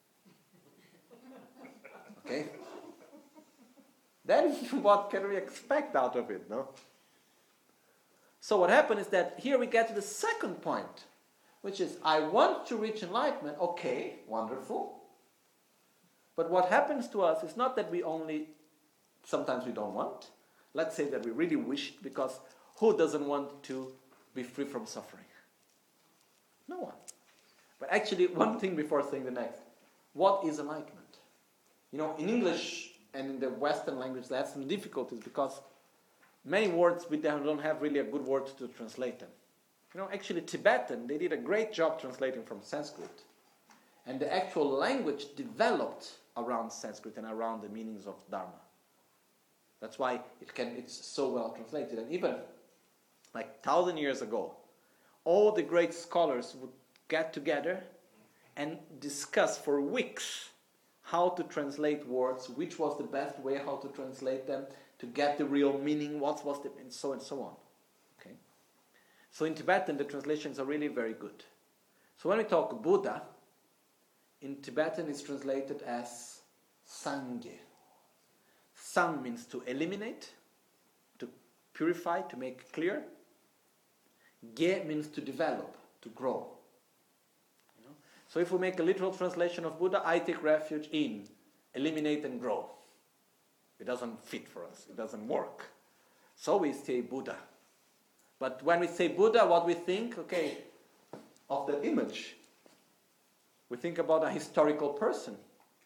Okay? Then what can we expect out of it, no? So what happened is that here we get to the second point, which is, I want to reach enlightenment. Okay, wonderful. But what happens to us is not that we only, sometimes we don't want. Let's say that we really wish, because who doesn't want to be free from suffering? No one. But actually, one thing before saying the next. What is enlightenment? You know, in English and in the Western language, they have some difficulties because many words we don't have really a good word to translate them. You know, actually Tibetan, they did a great job translating from Sanskrit. And the actual language developed around Sanskrit and around the meanings of Dharma. That's why it can, it's so well translated. And even like thousand years ago, all the great scholars would get together and discuss for weeks how to translate words, which was the best way, how to translate them, to get the real meaning, what was the, and so and so on. Okay? So in Tibetan, the translations are really very good. So when we talk Buddha, in Tibetan it's translated as Sangye. Sang means to eliminate, to purify, to make clear. Ge means to develop, to grow. You know? So if we make a literal translation of Buddha, I take refuge in eliminate and grow. It doesn't fit for us. It doesn't work. So we say Buddha. But when we say Buddha, what we think, okay, of that image. We think about a historical person.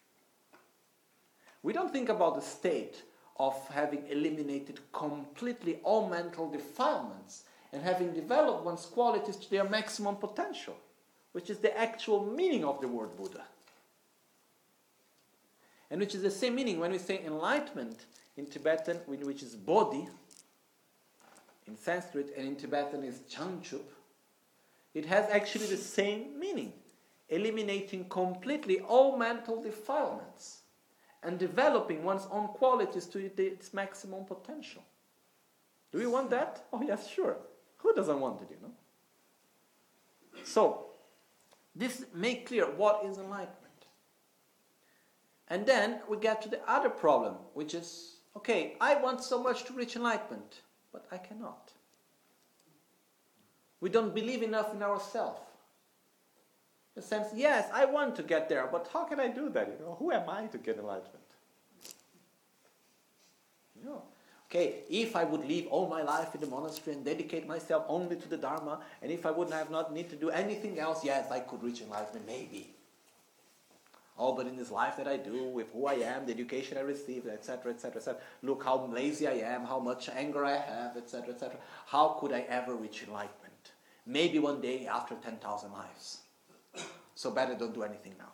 We don't think about the state of having eliminated completely all mental defilements and having developed one's qualities to their maximum potential, which is the actual meaning of the word Buddha. And which is the same meaning when we say enlightenment in Tibetan, which is Bodhi, in Sanskrit, and in Tibetan is Chanchup. It has actually the same meaning. eliminating completely all mental defilements and developing one's own qualities to its maximum potential. Do we want that? Oh yes, sure. Who doesn't want it, you know? So, this makes clear what is enlightenment. And then we get to the other problem, which is, okay, I want so much to reach enlightenment, but I cannot. We don't believe enough in ourselves. In a sense, yes, I want to get there, but how can I do that? You know, who am I to get enlightenment? You know, okay, if I would live all my life in the monastery and dedicate myself only to the Dharma, and if I would have not need to do anything else, yes, I could reach enlightenment, maybe. Oh, but in this life that I do, with who I am, the education I received, et cetera, et cetera, et cetera, look how lazy I am, how much anger I have, et cetera, et cetera. How could I ever reach enlightenment? Maybe one day after ten thousand lives. So better don't do anything now.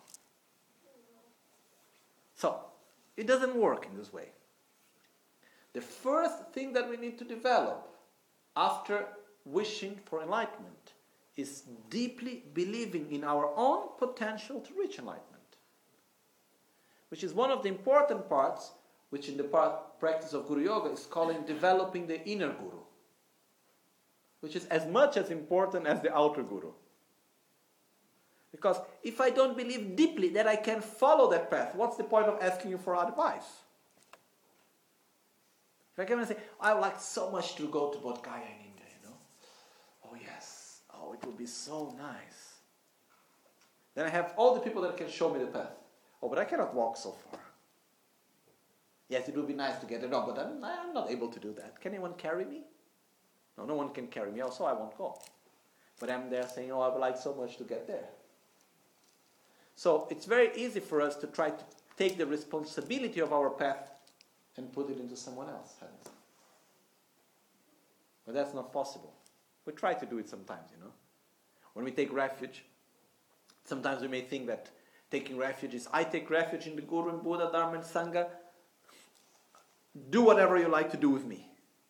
So, it doesn't work in this way. The first thing that we need to develop after wishing for enlightenment is deeply believing in our own potential to reach enlightenment. Which is one of the important parts, which in the part, practice of Guru Yoga is calling developing the inner Guru. Which is as much as important as the outer Guru. Because if I don't believe deeply that I can follow that path, what's the point of asking you for advice? If I come and say, I would like so much to go to Bodh Gaya in India, you know. Oh yes, oh it would be so nice. Then I have all the people that can show me the path. Oh, but I cannot walk so far. Yes, it would be nice to get it on, but I'm, I'm not able to do that. Can anyone carry me? No, no one can carry me, also I won't go. But I'm there saying, oh, I would like so much to get there. So it's very easy for us to try to take the responsibility of our path and put it into someone else's hands. But that's not possible. We try to do it sometimes, you know. When we take refuge, sometimes we may think that taking refuge is, I take refuge in the Guru and Buddha, Dharma and Sangha. Do whatever you like to do with me.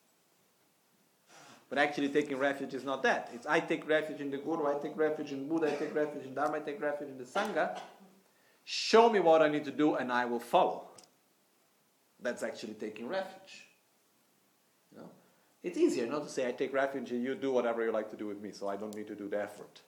But actually taking refuge is not that. It's I take refuge in the Guru, I take refuge in Buddha, I take refuge in Dharma, I take refuge in the Sangha. Show me what I need to do and I will follow. That's actually taking refuge. You know? It's easier not to say I take refuge and you do whatever you like to do with me, so I don't need to do the effort.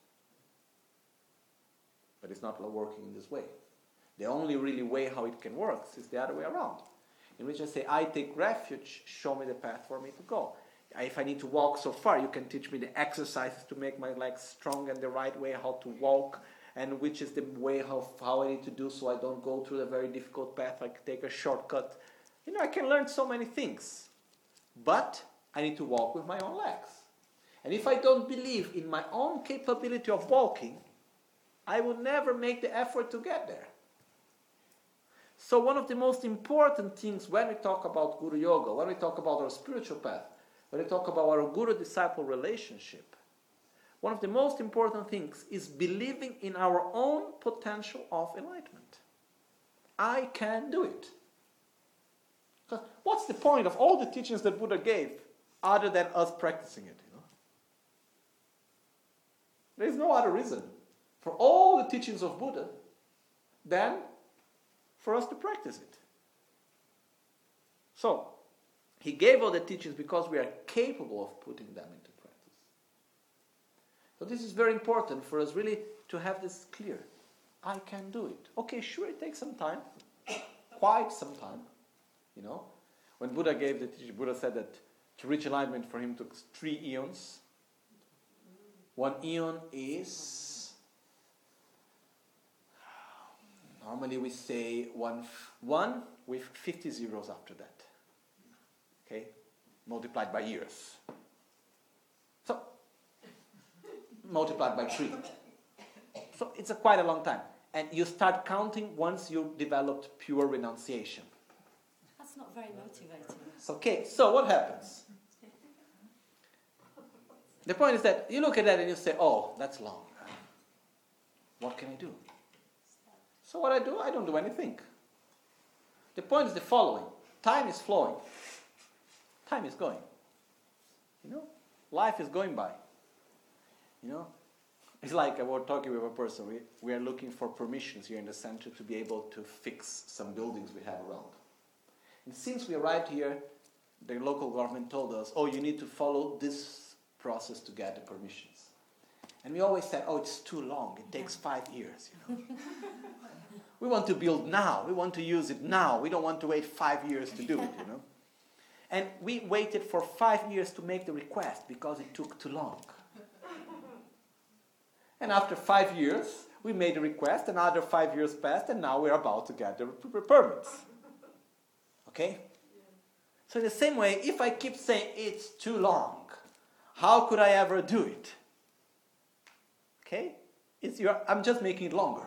But it's not working in this way. The only really way how it can work is the other way around. In which I say, I take refuge, show me the path for me to go. If I need to walk so far, you can teach me the exercises to make my legs strong and the right way how to walk, and which is the way how, how I need to do so I don't go through the very difficult path, I can take a shortcut. You know, I can learn so many things. But I need to walk with my own legs. And if I don't believe in my own capability of walking, I will never make the effort to get there. So one of the most important things when we talk about Guru Yoga, when we talk about our spiritual path, when we talk about our Guru-disciple relationship, one of the most important things is believing in our own potential of enlightenment. I can do it. Because what's the point of all the teachings that Buddha gave other than us practicing it? You know? There is no other reason for all the teachings of Buddha than for us to practice it. So, he gave all the teachings because we are capable of putting them into practice. So this is very important for us really to have this clear. I can do it. Okay, sure, it takes some time. Quite some time. You know, when Buddha gave the teaching, Buddha said that to reach enlightenment for him took three eons. One eon is, normally we say one, one with fifty zeros after that. Okay, multiplied by years. So, multiplied by three. So it's a quite a long time. And you start counting once you developed pure renunciation. That's not very motivating. Okay, so what happens? The point is that you look at that and you say, oh, that's long. What can I do? So what I do, I don't do anything. The point is the following. Time is flowing. Time is going. You know? Life is going by. You know? It's like I was talking with a person. We, we are looking for permissions here in the center to be able to fix some buildings we have around. And since we arrived here, the local government told us, oh, you need to follow this process to get the permissions. And we always said, oh, it's too long. It takes five years, you know. We want to build now. We want to use it now. We don't want to wait five years to do it, you know. And we waited for five years to make the request because it took too long. And after five years, we made a request, another five years passed, and now we're about to get the permits. Okay? So in the same way, if I keep saying it's too long, how could I ever do it? Okay? It's your, I'm just making it longer.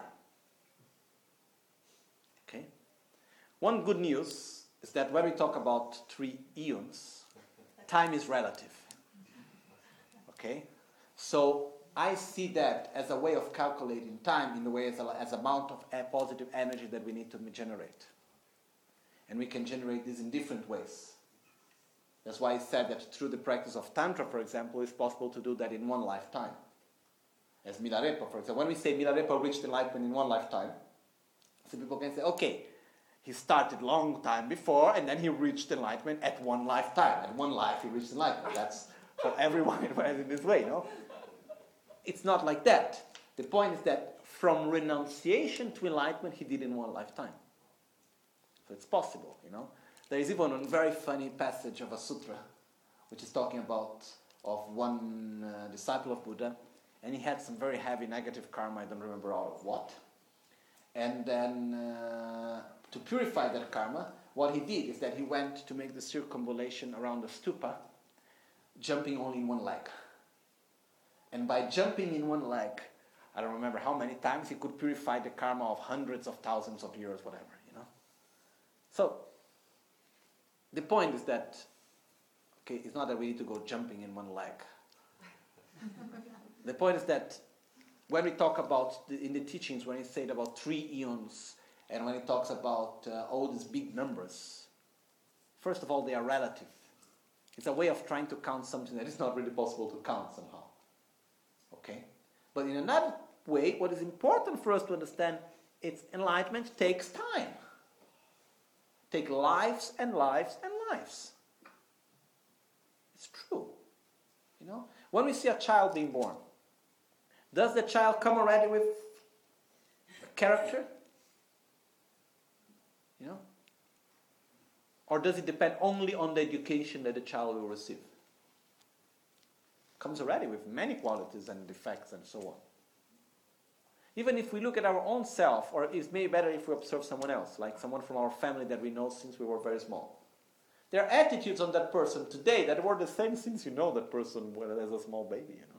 Okay? One good news is that when we talk about three eons, time is relative. Okay? So I see that as a way of calculating time in the way as a, as amount of a positive energy that we need to generate. And we can generate this in different ways. That's why I said that through the practice of Tantra, for example, it's possible to do that in one lifetime. As Milarepa, for example. When we say Milarepa reached enlightenment in one lifetime, some people can say, okay, he started long time before, and then he reached enlightenment at one lifetime. At one life, he reached enlightenment. That's for everyone in this way, no? It's not like that. The point is that from renunciation to enlightenment, he did in one lifetime. So it's possible, you know. There is even a very funny passage of a sutra, which is talking about of one uh, disciple of Buddha, and he had some very heavy negative karma, I don't remember all of what. And then, uh, to purify that karma, what he did is that he went to make the circumambulation around the stupa, jumping only in one leg. And by jumping in one leg, I don't remember how many times, he could purify the karma of hundreds of thousands of years, whatever, you know. So, the point is that, okay, it's not that we need to go jumping in one leg. The point is that when we talk about, the, in the teachings, when he said about three eons, and when he talks about uh, all these big numbers, first of all, they are relative. It's a way of trying to count something that is not really possible to count somehow. Okay? But in another way, what is important for us to understand, it's enlightenment takes time. Take lives and lives and lives. It's true. You know? When we see a child being born, does the child come already with character? You know? Or does it depend only on the education that the child will receive? Comes already with many qualities and defects and so on. Even if we look at our own self, or it's maybe better if we observe someone else, like someone from our family that we know since we were very small. There are attitudes on that person today that were the same since you know that person as a small baby, you know.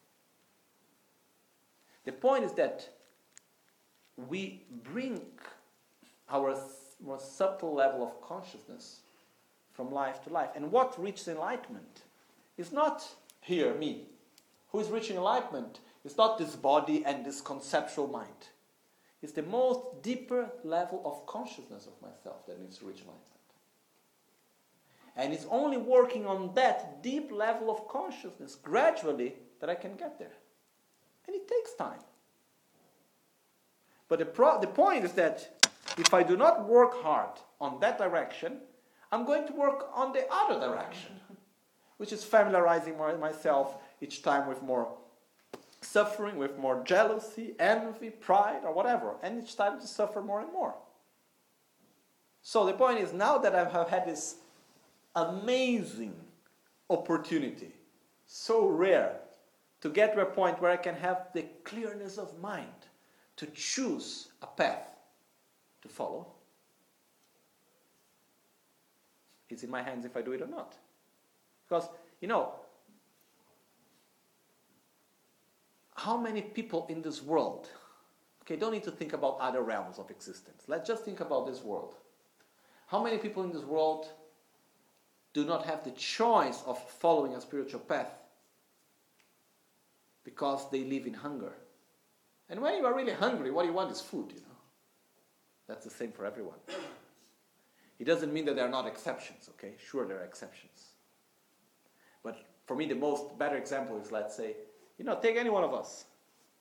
The point is that we bring our more subtle level of consciousness from life to life. And what reaches enlightenment is not here, me. Who is reaching enlightenment? It's not this body and this conceptual mind. It's the most deeper level of consciousness of myself that needs to reach enlightenment. And it's only working on that deep level of consciousness gradually that I can get there. And it takes time. But the, pro- the point is that if I do not work hard on that direction, I'm going to work on the other direction, which is familiarizing my, myself each time with more suffering, with more jealousy, envy, pride, or whatever, and each time to suffer more and more. So the point is, now that I have had this amazing opportunity, so rare, to get to a point where I can have the clearness of mind to choose a path to follow, it's in my hands if I do it or not. Because, you know, how many people in this world, okay, don't need to think about other realms of existence. Let's just think about this world. How many people in this world do not have the choice of following a spiritual path because they live in hunger? And when you are really hungry, what you want is food, you know. That's the same for everyone. It doesn't mean that there are not exceptions, okay? Sure, there are exceptions. But for me, the most better example is, let's say, you know, take any one of us.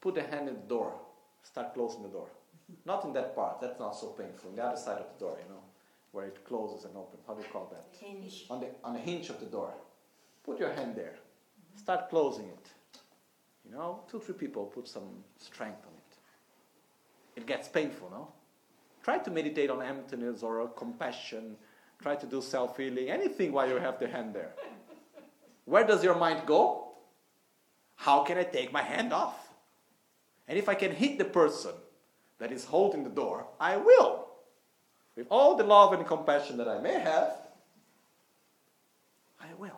put a hand in the door, start closing the door. Not in that part, that's not so painful. On the other side of the door, you know, where it closes and opens. How do you call that? Hinge. On the, on the hinge of the door. Put your hand there. Start closing it. You know, two, three people put some strength on it. It gets painful, no? Try to meditate on emptiness or compassion. Try to do self-healing, anything while you have the hand there. Where does your mind go? How can I take my hand off? And if I can hit the person that is holding the door, I will. With all the love and compassion that I may have, I will.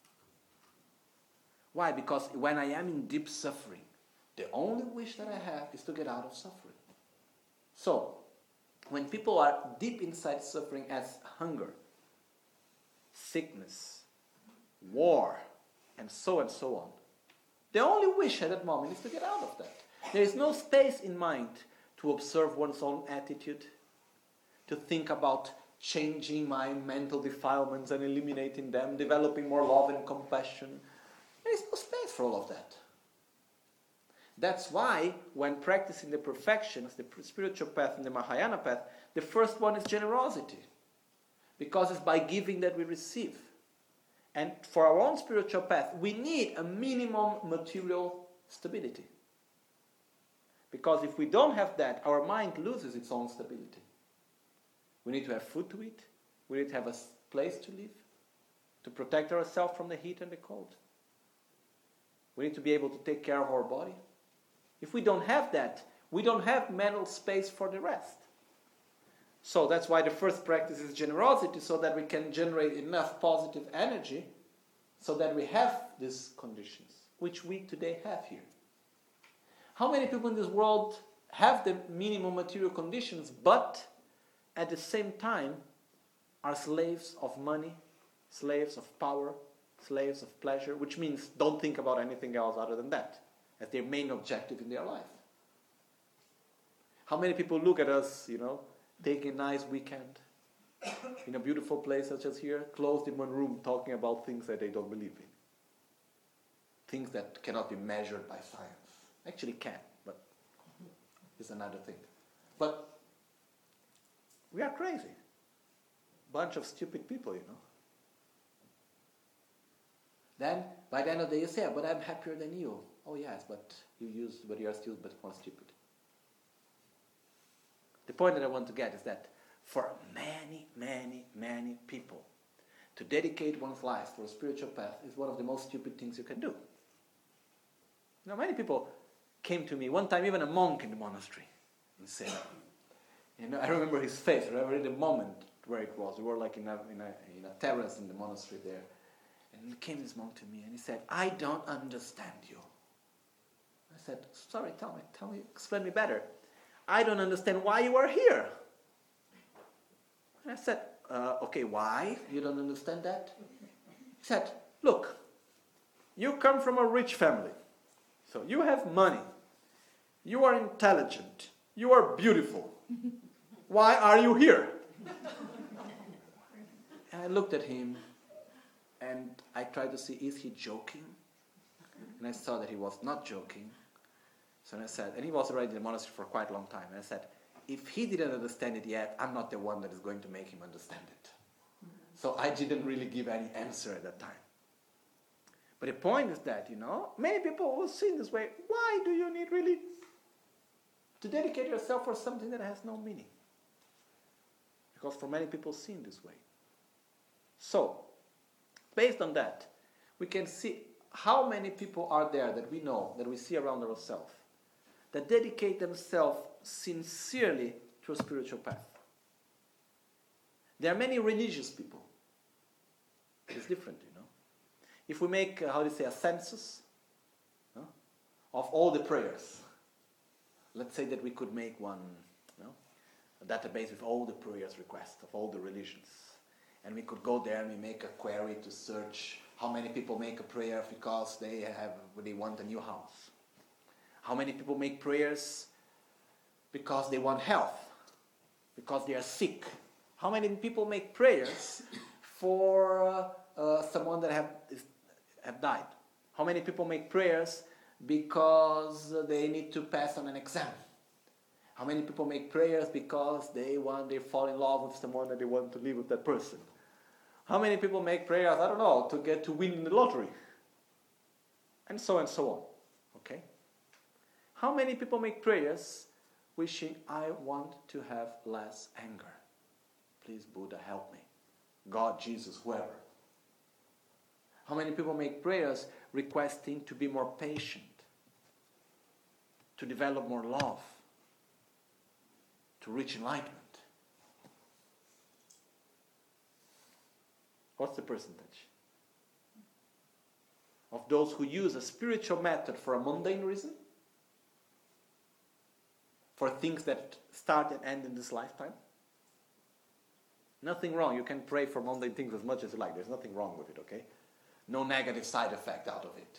Why? Because when I am in deep suffering, the only wish that I have is to get out of suffering. So, when people are deep inside suffering as hunger, sickness, war, and so and so on, the only wish at that moment is to get out of that. There is no space in mind to observe one's own attitude, to think about changing my mental defilements and eliminating them, developing more love and compassion. There is no space for all of that. That's why when practicing the perfections, the spiritual path and the Mahayana path, the first one is generosity. Because it's by giving that we receive. And for our own spiritual path, we need a minimum material stability. Because if we don't have that, our mind loses its own stability. We need to have food to eat. We need to have a place to live, to protect ourselves from the heat and the cold. We need to be able to take care of our body. If we don't have that, we don't have mental space for the rest. So that's why the first practice is generosity, so that we can generate enough positive energy so that we have these conditions, which we today have here. How many people in this world have the minimum material conditions, but at the same time are slaves of money, slaves of power, slaves of pleasure, which means don't think about anything else other than that as their main objective in their life? How many people look at us, you know, taking a nice weekend in a beautiful place such as here, closed in one room talking about things that they don't believe in. Things that cannot be measured by science. Actually can, but it's another thing. But we are crazy. Bunch of stupid people, you know. Then, by the end of the day, you say, but I'm happier than you. Oh yes, but you use, but you are still but more stupid. The point that I want to get is that for many, many, many people, to dedicate one's life for a spiritual path is one of the most stupid things you can do. Now, many people came to me, one time even a monk in the monastery, and said, you know, I remember his face, I remember the moment where it was. We were like in a, in a, in a terrace in the monastery there. And came this monk to me and he said, I don't understand you. I said, sorry, tell me, tell me, explain me better. I don't understand why you are here. And I said, uh, okay, why? You don't understand that? He said, look, you come from a rich family. So you have money. You are intelligent. You are beautiful. Why are you here? And I looked at him and I tried to see, is he joking? And I saw that he was not joking. So I said, and he was already in the monastery for quite a long time. And I said, if he didn't understand it yet, I'm not the one that is going to make him understand it. So I didn't really give any answer at that time. But the point is that, you know, many people will see in this way, why do you need really to dedicate yourself for something that has no meaning? Because for many people see in this way. So, based on that, we can see how many people are there that we know, that we see around ourselves, that dedicate themselves sincerely to a spiritual path. There are many religious people. It's different, you know. If we make, uh, how do you say, a census no, of all the prayers, let's say that we could make one, you know, a database with all the prayers requests of all the religions. And we could go there and we make a query to search how many people make a prayer because they have they want a new house. How many people make prayers because they want health, because they are sick. How many people make prayers for uh, uh, someone that have, is, have died? How many people make prayers because they need to pass on an exam? How many people make prayers because they want, they fall in love with someone and they want to live with that person? How many people make prayers, I don't know, to get to win the lottery? And so and so on. Okay? How many people make prayers wishing, I want to have less anger? Please, Buddha, help me. God, Jesus, whoever. How many people make prayers requesting to be more patient, to develop more love, to reach enlightenment? What's the percentage of those who use a spiritual method for a mundane reason? For things that start and end in this lifetime? Nothing wrong. You can pray for mundane things as much as you like. There's nothing wrong with it, okay? No negative side effect out of it.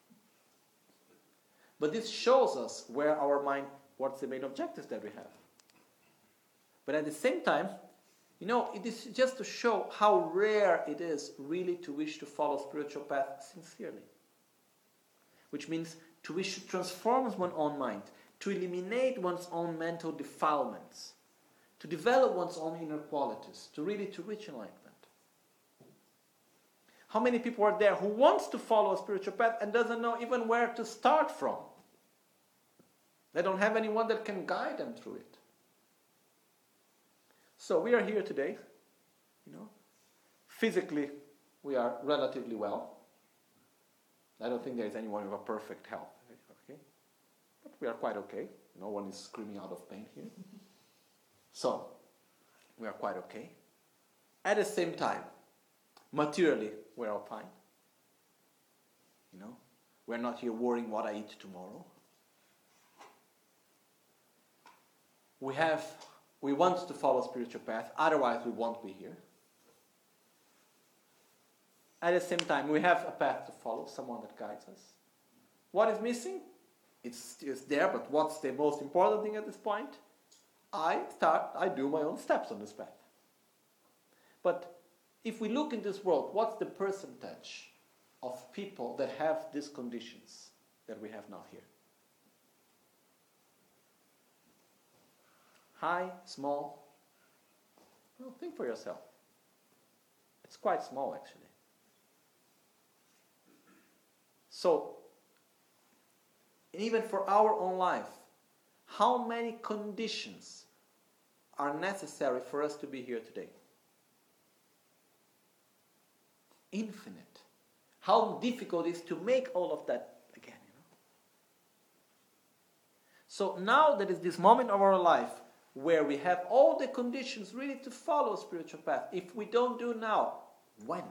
But this shows us where our mind, what's the main objectives that we have. But at the same time, you know, it is just to show how rare it is really to wish to follow spiritual path sincerely. Which means to wish to transform one's own mind, to eliminate one's own mental defilements, to develop one's own inner qualities, to really to reach enlightenment. How many people are there who wants to follow a spiritual path and doesn't know even where to start from? They don't have anyone that can guide them through it. So we are here today, you know. Physically, we are relatively well. I don't think there is anyone with a perfect health, okay? But we are quite okay. No one is screaming out of pain here. So, we are quite okay. At the same time, materially, we're all fine. You know, we're not here worrying what I eat tomorrow. We have, we want to follow a spiritual path, otherwise we won't be here. At the same time, we have a path to follow, someone that guides us. What is missing? It's, it's there, but what's the most important thing at this point? I start, I do my own steps on this path. But if we look in this world, what's the percentage of people that have these conditions that we have now here? High, small? Well, think for yourself. It's quite small, actually. So, even for our own life, how many conditions are necessary for us to be here today? Infinite. How difficult it is to make all of that again, you know? So now there is this moment of our life where we have all the conditions really to follow a spiritual path. If we don't do now, when?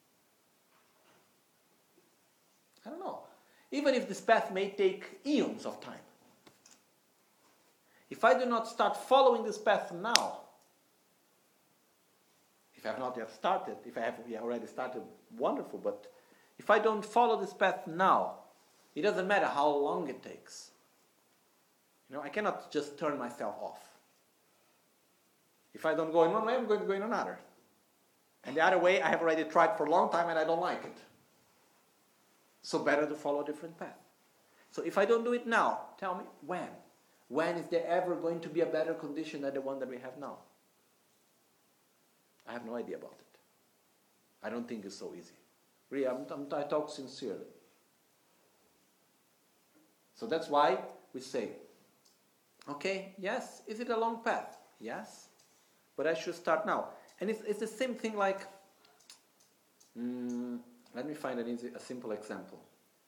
I don't know. Even if this path may take eons of time. If I do not start following this path now, if I have not yet started, if I have already started, wonderful, but if I don't follow this path now, it doesn't matter how long it takes. You know, I cannot just turn myself off. If I don't go in one way, I'm going to go in another. And the other way, I have already tried for a long time and I don't like it. So better to follow a different path. So if I don't do it now, tell me when? When is there ever going to be a better condition than the one that we have now? I have no idea about it. I don't think it's so easy. Really, I'm, I'm, I talk sincerely. So that's why we say, okay, yes, is it a long path? Yes, but I should start now. And it's, it's the same thing like, mm, let me find an easy, a simple example.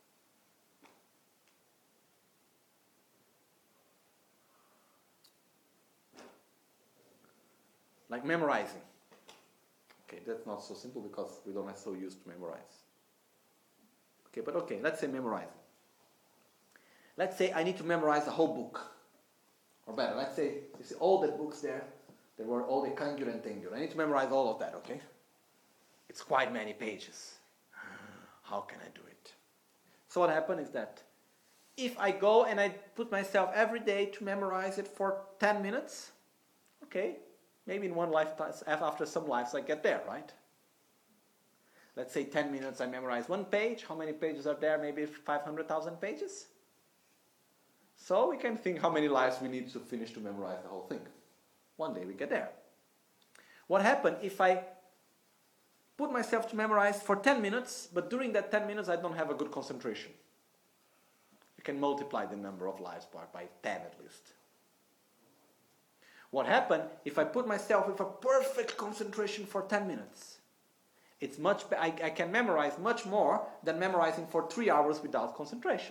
Like memorizing. Okay, that's not so simple because we don't are so used to memorize. Okay, but okay, let's say memorizing. Let's say I need to memorize a whole book. Or better, let's say, you see all the books there, there were all the Kangyur and Tengyur. I need to memorize all of that, okay? It's quite many pages. How can I do it? So what happened is that if I go and I put myself every day to memorize it for ten minutes, okay, maybe in one lifetime, after some lives I get there, right? Let's say ten minutes I memorize one page. How many pages are there? Maybe five hundred thousand pages? So we can think how many lives we need to finish to memorize the whole thing. One day we get there. What happens if I put myself to memorize for ten minutes, but during that ten minutes I don't have a good concentration? You can multiply the number of lives by, by ten at least. What happens if I put myself with a perfect concentration for ten minutes? It's much. I, I can memorize much more than memorizing for three hours without concentration.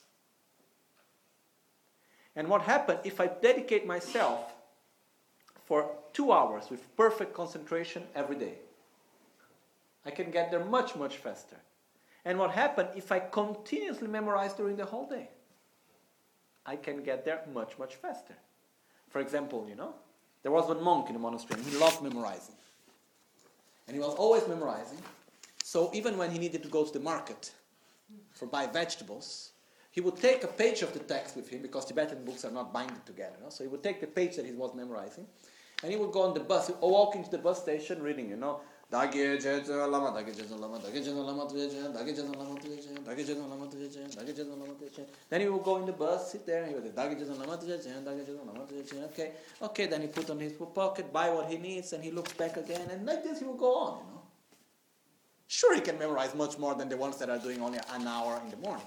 And what happens if I dedicate myself for two hours with perfect concentration every day? I can get there much, much faster. And what happens if I continuously memorize during the whole day? I can get there much, much faster. For example, you know, there was one monk in the monastery and he loved memorizing. And he was always memorizing. So even when he needed to go to the market for buy vegetables, he would take a page of the text with him, because Tibetan books are not binded together. No? So he would take the page that he was memorizing, and he would go on the bus, he would walk into the bus station reading, you know, Dagye Jeje Lama, Dagye Jeje Lama, Dagye Jeje Lama Tuyeje, Dagye Jeje Lama Tuyeje, Dagye Jeje Lama Tuyeje, Dagye Jeje Lama Tuyeje. Then he would go in the bus, sit there, and he would say, Dagye Jeje Lama Tuyeje, Dagye Jeje Lama Tuyeje. Okay, okay. Then he put on his pocket, buy what he needs, and he looks back again, and like this he will go on, you know. Sure, he can memorize much more than the ones that are doing only an hour in the morning.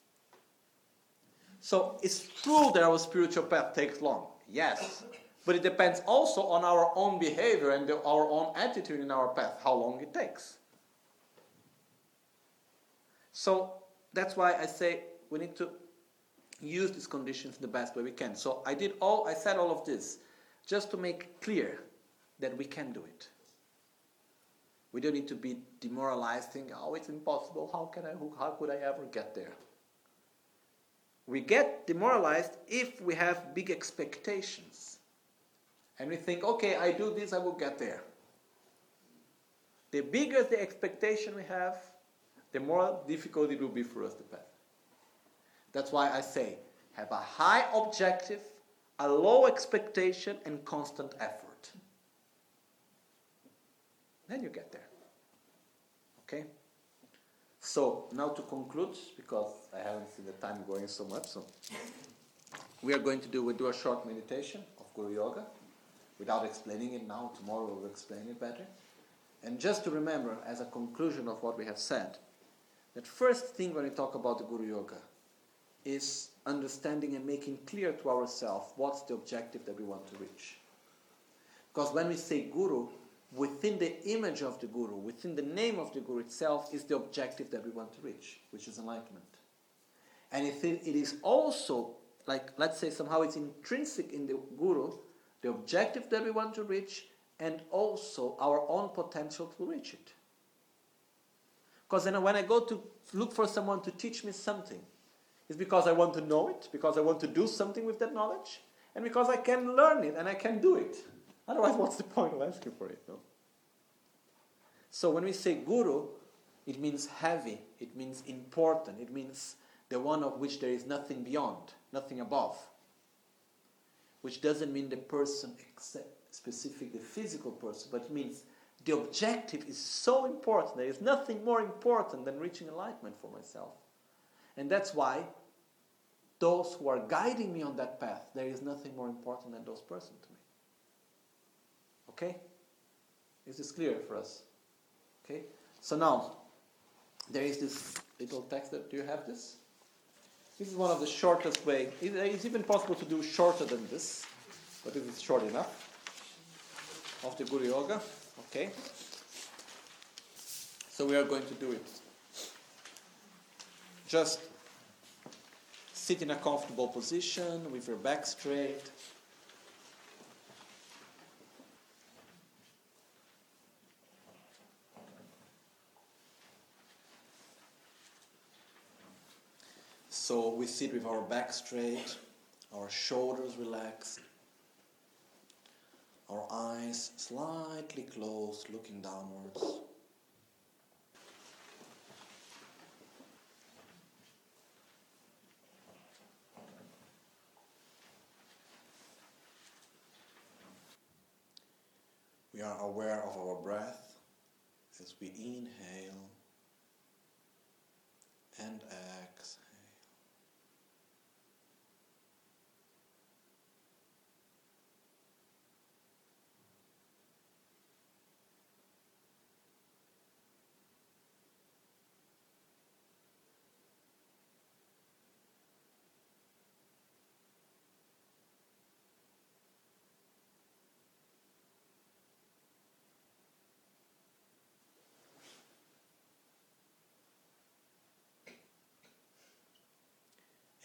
So it's true that our spiritual path takes long, yes. But it depends also on our own behavior and the, our own attitude in our path, how long it takes. So that's why I say we need to use these conditions the best way we can. So I did all, I said all of this just to make clear that we can do it. We don't need to be demoralized, thinking, oh, it's impossible, how can I, how could I ever get there? We get demoralized if we have big expectations. And we think, okay, I do this, I will get there. The bigger the expectation we have, the more difficult it will be for us to pass. That's why I say, have a high objective, a low expectation, and constant effort. Then you get there. Okay? So, now to conclude, because I haven't seen the time going so much, so we are going to do, we'll do a short meditation of Guru Yoga, without explaining it now. Tomorrow we'll explain it better. And just to remember, as a conclusion of what we have said, that first thing when we talk about the Guru Yoga is understanding and making clear to ourselves what's the objective that we want to reach. Because when we say Guru, within the image of the Guru, within the name of the Guru itself, is the objective that we want to reach, which is enlightenment. And it is also, like, let's say somehow it's intrinsic in the Guru, the objective that we want to reach, and also our own potential to reach it. Because then when I go to look for someone to teach me something, it's because I want to know it, because I want to do something with that knowledge, and because I can learn it and I can do it. Otherwise, what's the point of asking for it? No? So when we say Guru, it means heavy, it means important, it means the one of which there is nothing beyond, nothing above. Which doesn't mean the person except specific, the physical person, but it means the objective is so important. There is nothing more important than reaching enlightenment for myself. And that's why those who are guiding me on that path, there is nothing more important than those persons to me. Okay? Is this clear for us? Okay? So now, there is this little text. That, do you have this? This is one of the shortest way. It's even possible to do shorter than this, but this is short enough. Of the Guru Yoga. Okay? So we are going to do it. Just sit in a comfortable position with your back straight. So we sit with our back straight, our shoulders relaxed, our eyes slightly closed, looking downwards. We are aware of our breath as we inhale and exhale.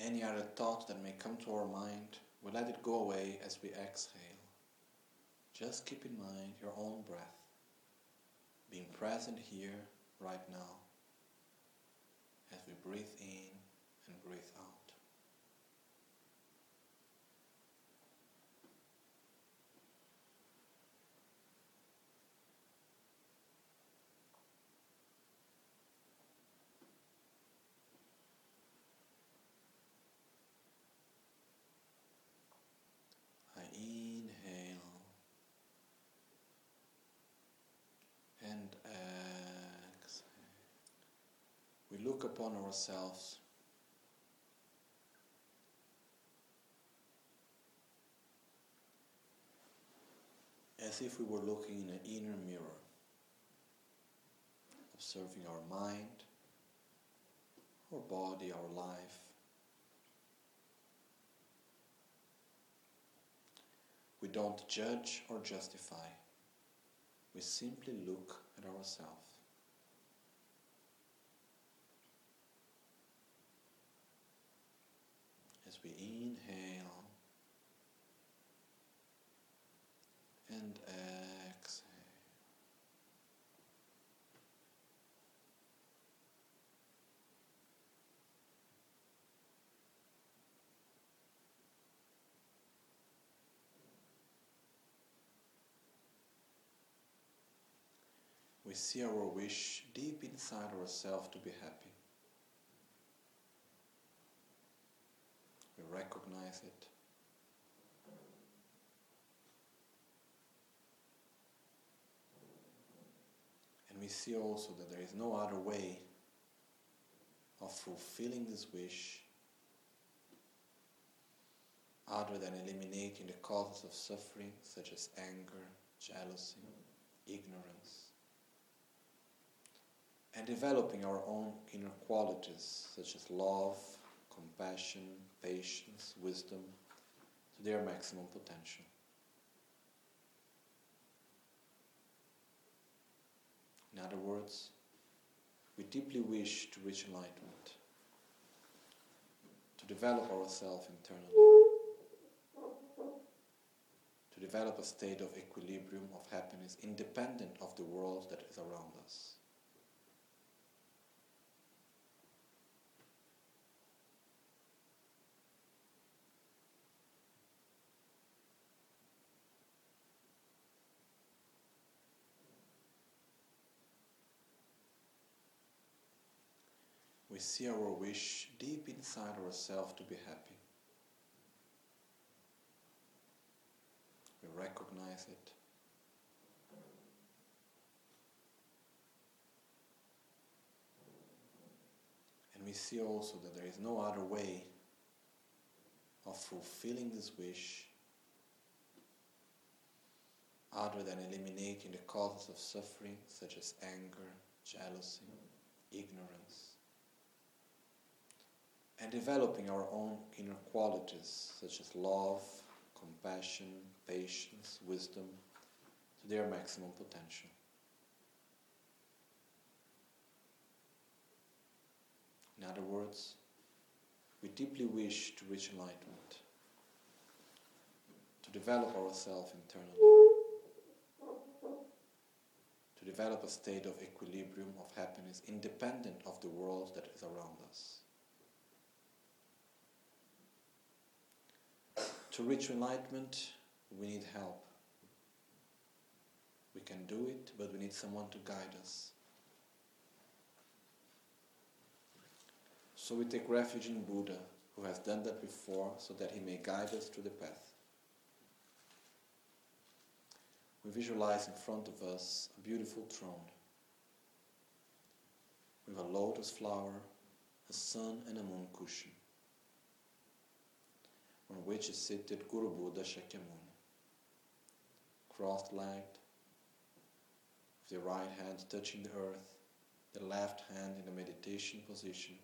Any other thought that may come to our mind, we let it go away as we exhale. Just keep in mind your own breath, being present here, right now, as we breathe in and breathe out. I inhale and exhale. We look upon ourselves as if we were looking in an inner mirror, observing our mind, our body, our life. We don't judge or justify. We simply look at ourselves. As we inhale and exhale. We see our wish deep inside ourselves to be happy. We recognize it. And we see also that there is no other way of fulfilling this wish other than eliminating the causes of suffering such as anger, jealousy, ignorance, and developing our own inner qualities such as love, compassion, patience, wisdom to their maximum potential. In other words, we deeply wish to reach enlightenment, to develop ourselves internally, to develop a state of equilibrium, of happiness, independent of the world that is around us. We see our wish deep inside ourselves to be happy. We recognize it. And we see also that there is no other way of fulfilling this wish other than eliminating the causes of suffering such as anger, jealousy, ignorance, and developing our own inner qualities such as love, compassion, patience, wisdom to their maximum potential. In other words, we deeply wish to reach enlightenment, to develop ourselves internally, to develop a state of equilibrium, of happiness, independent of the world that is around us. To reach enlightenment, we need help. We can do it, but we need someone to guide us. So we take refuge in Buddha, who has done that before, so that he may guide us through the path. We visualize in front of us a beautiful throne with a lotus flower, a sun and a moon cushion, on which is seated Guru Buddha Shakyamuni, cross-legged, with the right hand touching the earth, the left hand in a meditation position,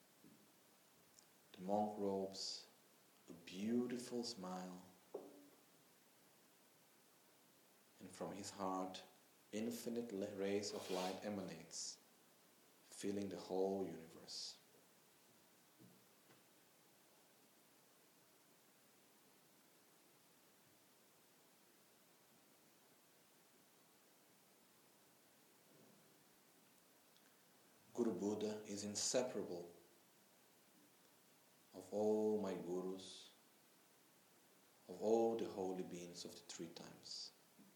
the monk robes, a beautiful smile, and from his heart infinite rays of light emanates, filling the whole universe. Buddha is inseparable of all my gurus, of all the holy beings of the three times.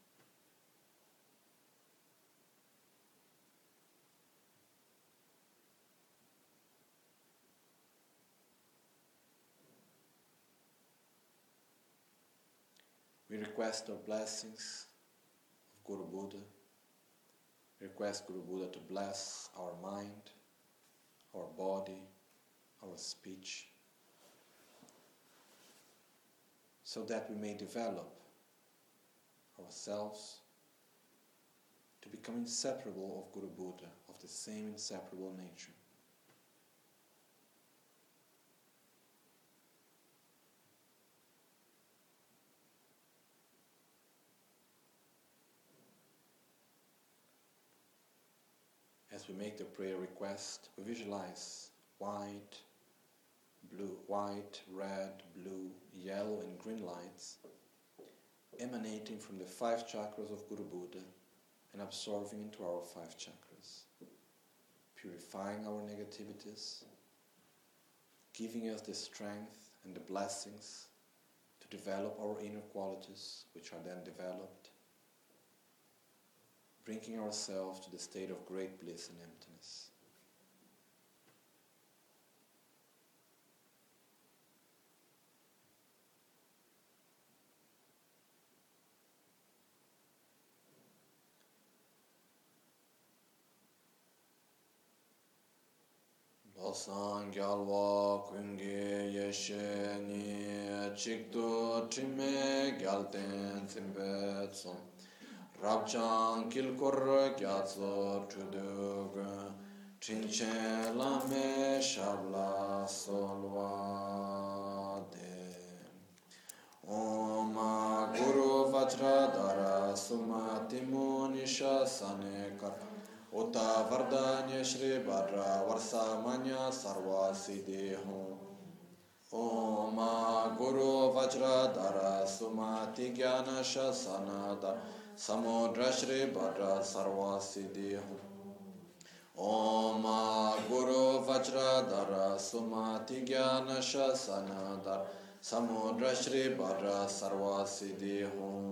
We request our blessings of Guru Buddha. Request Guru Buddha to bless our mind, our body, our speech, so that we may develop ourselves to become inseparable of Guru Buddha, of the same inseparable nature. As we make the prayer request, we visualize white, blue, white, red, blue, yellow and green lights emanating from the five chakras of Guru Buddha and absorbing into our five chakras, purifying our negativities, giving us the strength and the blessings to develop our inner qualities, which are then developed, bringing ourselves to the state of great bliss and emptiness. Losan gyalwa kungi yeshe ni chikto trime gyalten tsimbe tsom Rabjang kilkor gyatso trudug Trinchen lame shabla solva de Om Guru Vajradhara Sumati Munisha Sanekar Uta Vardanya Shri Bhadra Varsamanya Sarva Siddhi Om Guru Vajradhara Sumati Gyana Shasanadhara Samudra Shri Bhadra Sarva Siddhi Om Guru Vajradhara Sumati Gyana Shasanadhara Samudra Shri Bhadra Sarva Siddhi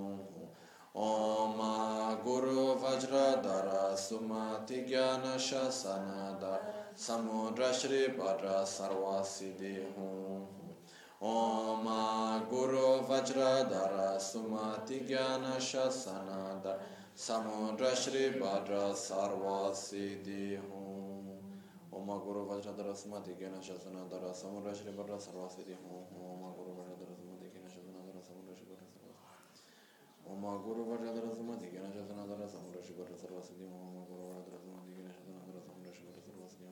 Om Guru Vajradhara Sumati Gyana Shasanadhara Samudra Shri Bhadra Sarva Siddhi Om Guru Vajradhara Sumati Gyana Shasanadhara Samudra Shri Bhadra Sarva Siddhi Om Guru Vajradhara Sumati Gyana Shasanadhara Samudra Shri Bhadra Sarva Siddhi Om Guru Vajradhara Sumati Gyana Shasanadhara Samudra Shri Bhadra Sarva Om Guru Vajradhara Sumati Gyana Shasanadhara Samudra Shri Bhadra Sarva Siddhi Om Guru Vajradhara Sumati Gyana Shasanadhara Samudra Shri Bhadra Sarva Siddhi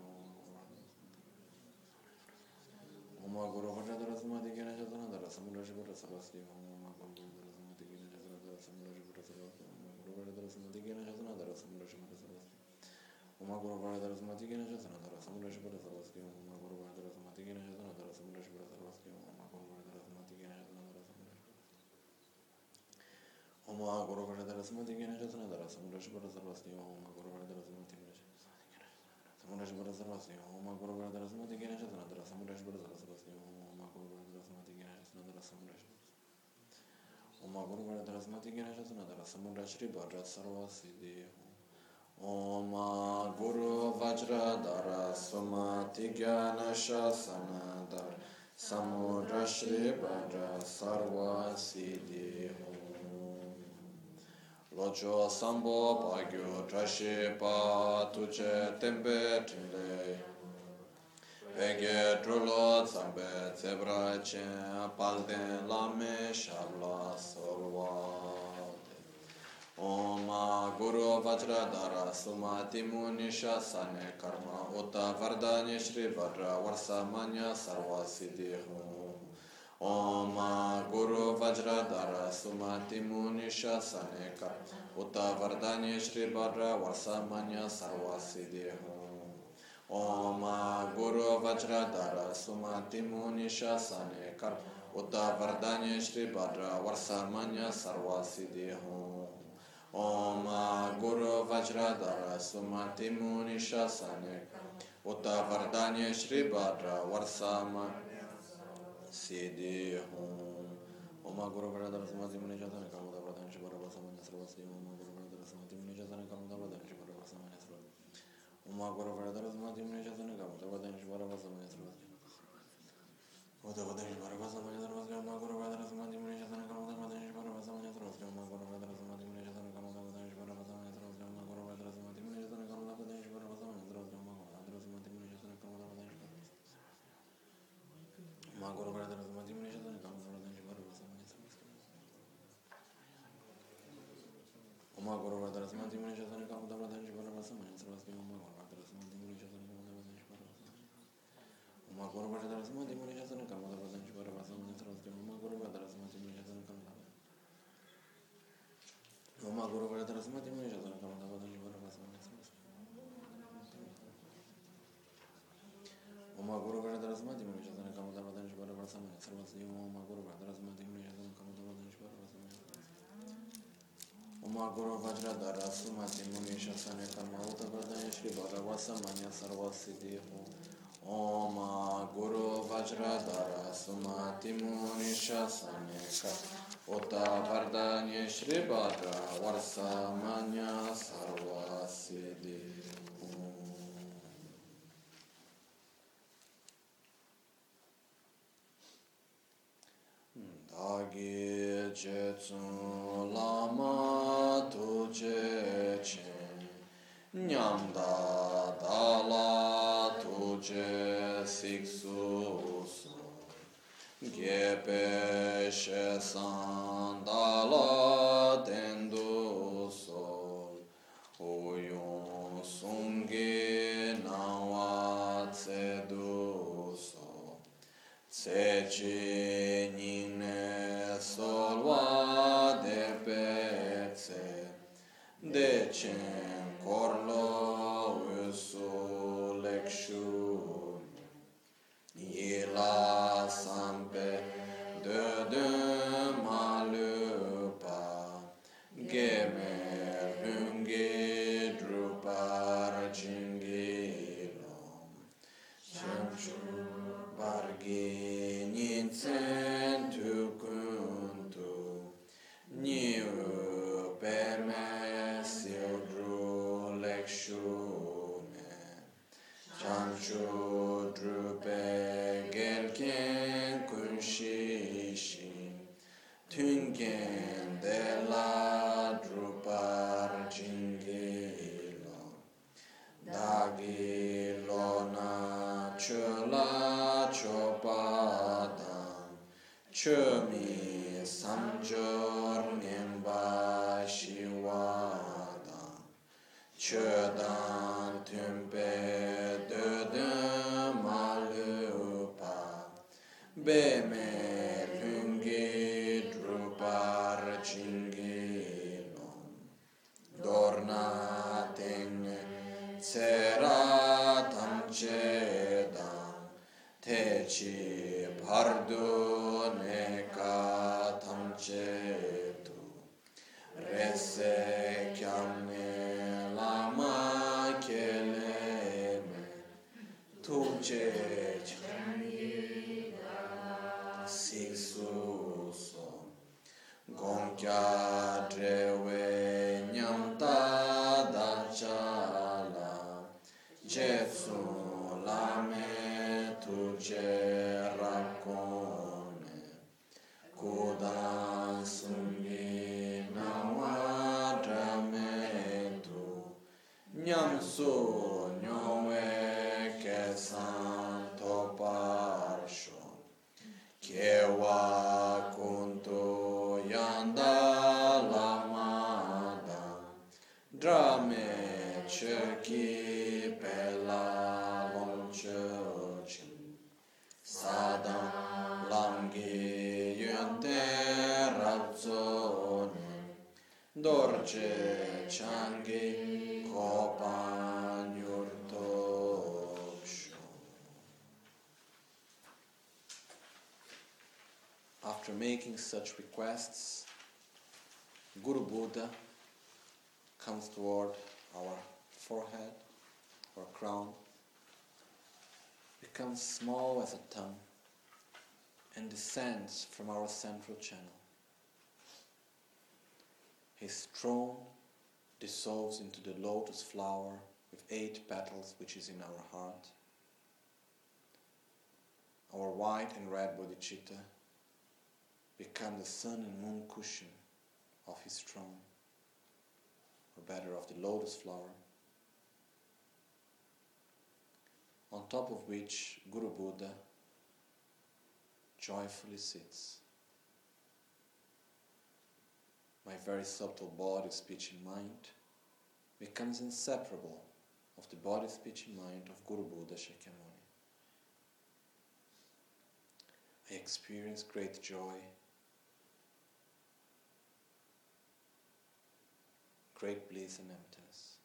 Om Guru Vajradhara Sumati Gyana Shasanadhara Samudra Shri Bhadra Sarva Siddhi Om Guru Vajradhara Sumati Gyana Shasanadhara Samudra Shri Bhadra Sarva Siddhi Om Guru Vajradhara Sumati Gyana Shasanadhara Samudra Shri Bhadra Sarva Siddhi Om Guru Vajradhara Sumati Gyana Shasanadhara Samudra Shri Bhadra Sarva Siddhi Om Guru Vajradhara Sumati Gyana Shasanadhara Samudra Shri Bhadra Sarva Siddhi Om Guru Vajradhara Sumati Gyana Shasanadhara Om Guru Vajradhara Sumati Gyana Shasanadhara Samudra Shri Bhadra Sarva Siddhi Om Guru Vajradhara Sumati Gyana Shasanadhara Samudra Shri Bhadra Sarva Siddhi Om Guru Vajradhara Sumati Gyana Shasanadhara Samudra Shri Bhadra Sarva Siddhi Om Guru Vajradhara Sumati Gyana Shasanadhara Samudra Shri Om Guru Vajradhara Sumati Gyana Shasanadhara Samudra Shri Bhadra Sarva Siddhi Om Guru Vajradhara Sumati Gyana Shasanadhara Samudra Shri Bhadra Sarva Siddhi Locho Sambo Bhagyo Trashi Pa Tuche Tempe Trile Pege Trulo Zambe Zebra Chen Palden Lame Shabla Solvade Om Guru Vajradhara Sumati Munisha Sane Karma Uta Vardanya Shri Bhadra Varsamanya Sarva Siddhi Om Guru Vajradhara Sumati Munisha Saneka Uta Vardanya Shri Bhadra Varsamanya Sarva Siddhi Om Guru Vajradhara Sumati Munisha Saneka Uta Vardanya Shri Bhadra Varsamanya Sarva Siddhi Om Guru Vajradhara Sumati Munisha Saneka Uta Vardanya Shri Bhadra Varsama Siddhi Hum Oma Guru Varadara Samati Muni Jatana Kamuda Pradhan Shivara Vasamanya Sarvasti Oma Guru Varadara Samati Muni Jatana Kamuda Pradhan Shivara Vasamanya Sarvasti Oma Guru Varadara Samati Muni Jatana Kamuda Pradhan Shivara Vasamanya Sarvasti Uta Vadan Shivara Vasamanya Sarvasti Oma Guru Varadara Samati Muni Jatana Kamuda Pradhan Shivara Vasamanya Sarvasti Oma Guru Varadara Samati Muni Jatana Kamuda Pradhan Shivara Vasamanya Sarvasti Oma Guru Varadara Samati Muni Jatana Kamuda Pradhan Shivara Vasamanya Sarvasti Oma Guru Varadara Samati Muni Jatana Kamuda Pradhan Shivara Ma Guru Varadara Samati Muni Jatana Kamuda Pradhan Shivara Vasamanya Sarvasti Oma Guru Varadara Samati Muni Jatana Kamuda Pradhan Shivara Vasamanya Sarvasti Oma Guru Varadara Samati Muni Jatana Kamuda Pradhan Shivara Vasamanya Oma Guru Varadara Samati Muni Jatana Kamuda Pradhan Shivara Vasamanya Sarvasti Oma Guru Varadara Samati Muni Jatana Kamuda Oma Guru Varadara Samati Muni Jatana Kamuda Pradhan Shivara Vasamanya Sarvasti Oma Guru Varadara Samati Muni Jatana Kamuda Pradhan Shivara Vasamanya Sarvasti Oma Guru Varadara Samati Muni Jatana Kamuda Pradhan Shivara Vasamanya Oma Guru Vajradara Sumati Muni Shasane Karma Uta Pradhan Shri Bhadra Vasamanya Sarvasti Oma Guru Vajradara Sumati Muni Shasane Karma Uta Pradhan Shri Bhadra Vasamanya Sarvasti Dagi Jetsun Lama Tuje Chen Nyamda Dala Tuje Siksu So Gepe Shesan Dala Tendu So Uyun Sungi Nawa Tsedu So Tsechi Nine Solwa De Petse Dechen Korlo Usu Lekshu Yila Sampe De De Malupa Geme Lungi Drupar Jingilom Chanchu Bargi Ninsen Tukuntu Niu Peme Sildru Lekshune Chanchu Drupe Gelken Kunshishi Tungen Dela Drupar Jingilo Dagi Lona Chula Chopadam Chumi Samjor Nimba Shiwadam Chodan Tumpe Dödö Malupa Beme Lungi Drupar Chingilom Dorna Tenge Tsera Tamchedam Teci Pardu Neka Tamchetu Rese Kyamne Lama Keleme Tuje Siksuso Gonkya Drewe Nyamta Dachala Jetsu Lame Tuje Rakone Kudan Sungi Nawa Drametu Nyamsu Nyowe Kesan Toparsho Kewa Kunto Yanda Lamada Drame Cheki Pela Lonchochin Sadam Langi Yunte Razzone Dorce Changi Kopan Yurtoksho. After making such requests, Guru Buddha comes toward our forehead, our crown, becomes small as a tongue and descends from our central channel. His throne dissolves into the lotus flower with eight petals which is in our heart. Our white and red bodhicitta become the sun and moon cushion of his throne, or better of the lotus flower, on top of which Guru Buddha joyfully sits. My very subtle body, speech and mind becomes inseparable of the body, speech and mind of Guru Buddha Shakyamuni. I experience great joy, great bliss and emptiness.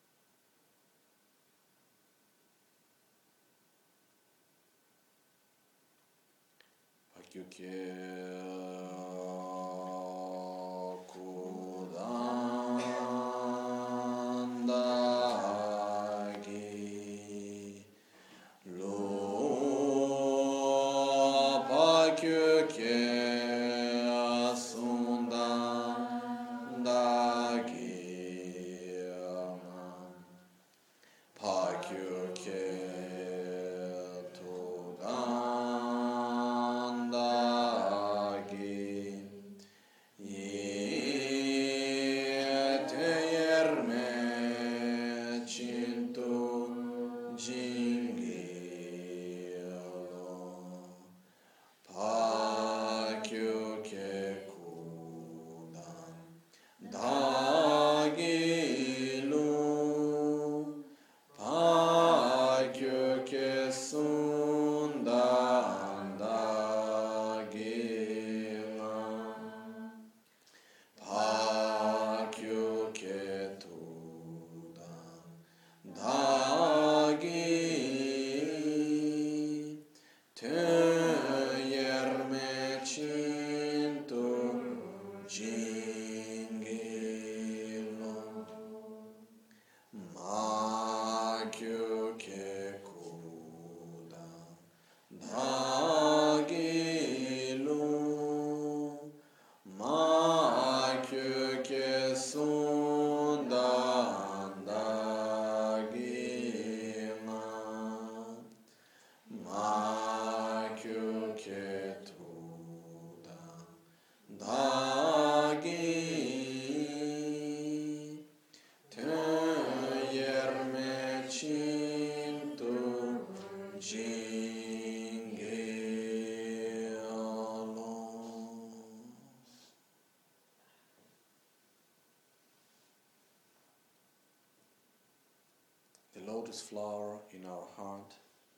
The lotus flower in our heart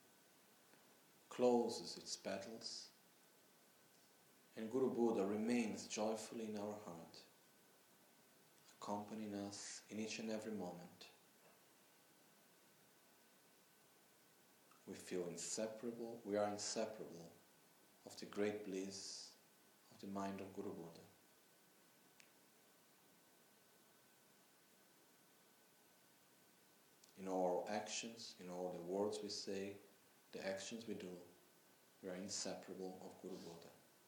closes its petals, and Guru Buddha remains joyfully in our heart, accompanying us in each and every moment. We feel inseparable, we are inseparable of the great bliss of the mind of Guru Buddha. In all our actions, in all the words we say, the actions we do, we are inseparable of Guru Buddha.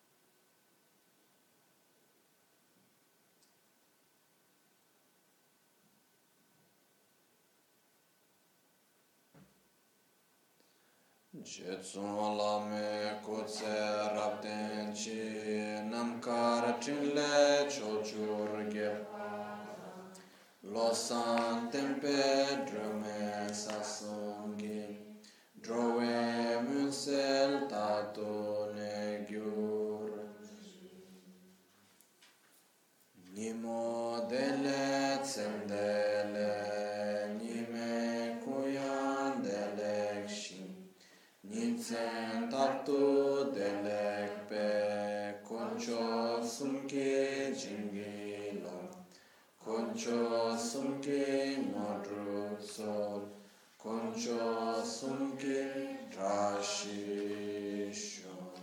Jetsun lame kutse rabden chi namkar chinle chochurge losan tempe drume sasungi drove munsel tato ne gyur nimo dele tsendele nime kuyan delek shin Nitsen tattu delek pe koncho sumke jingi lo koncho sumke modru sol koncho sumke drashi shon.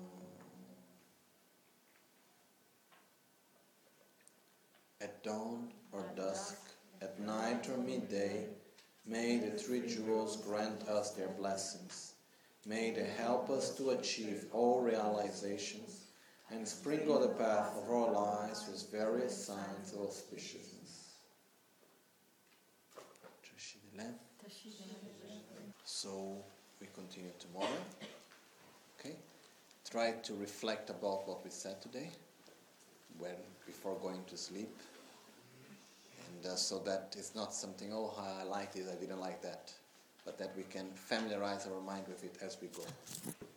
At dawn or dusk, at night or midday, may the three jewels grant us their blessings. May they help us to achieve all realizations and sprinkle the path of our lives with various signs of auspiciousness. So we continue tomorrow. Okay? Try to reflect about what we said today when before going to sleep. And uh, so that it's not something, oh, I liked it, I didn't like that. But that we can familiarize our mind with it as we go.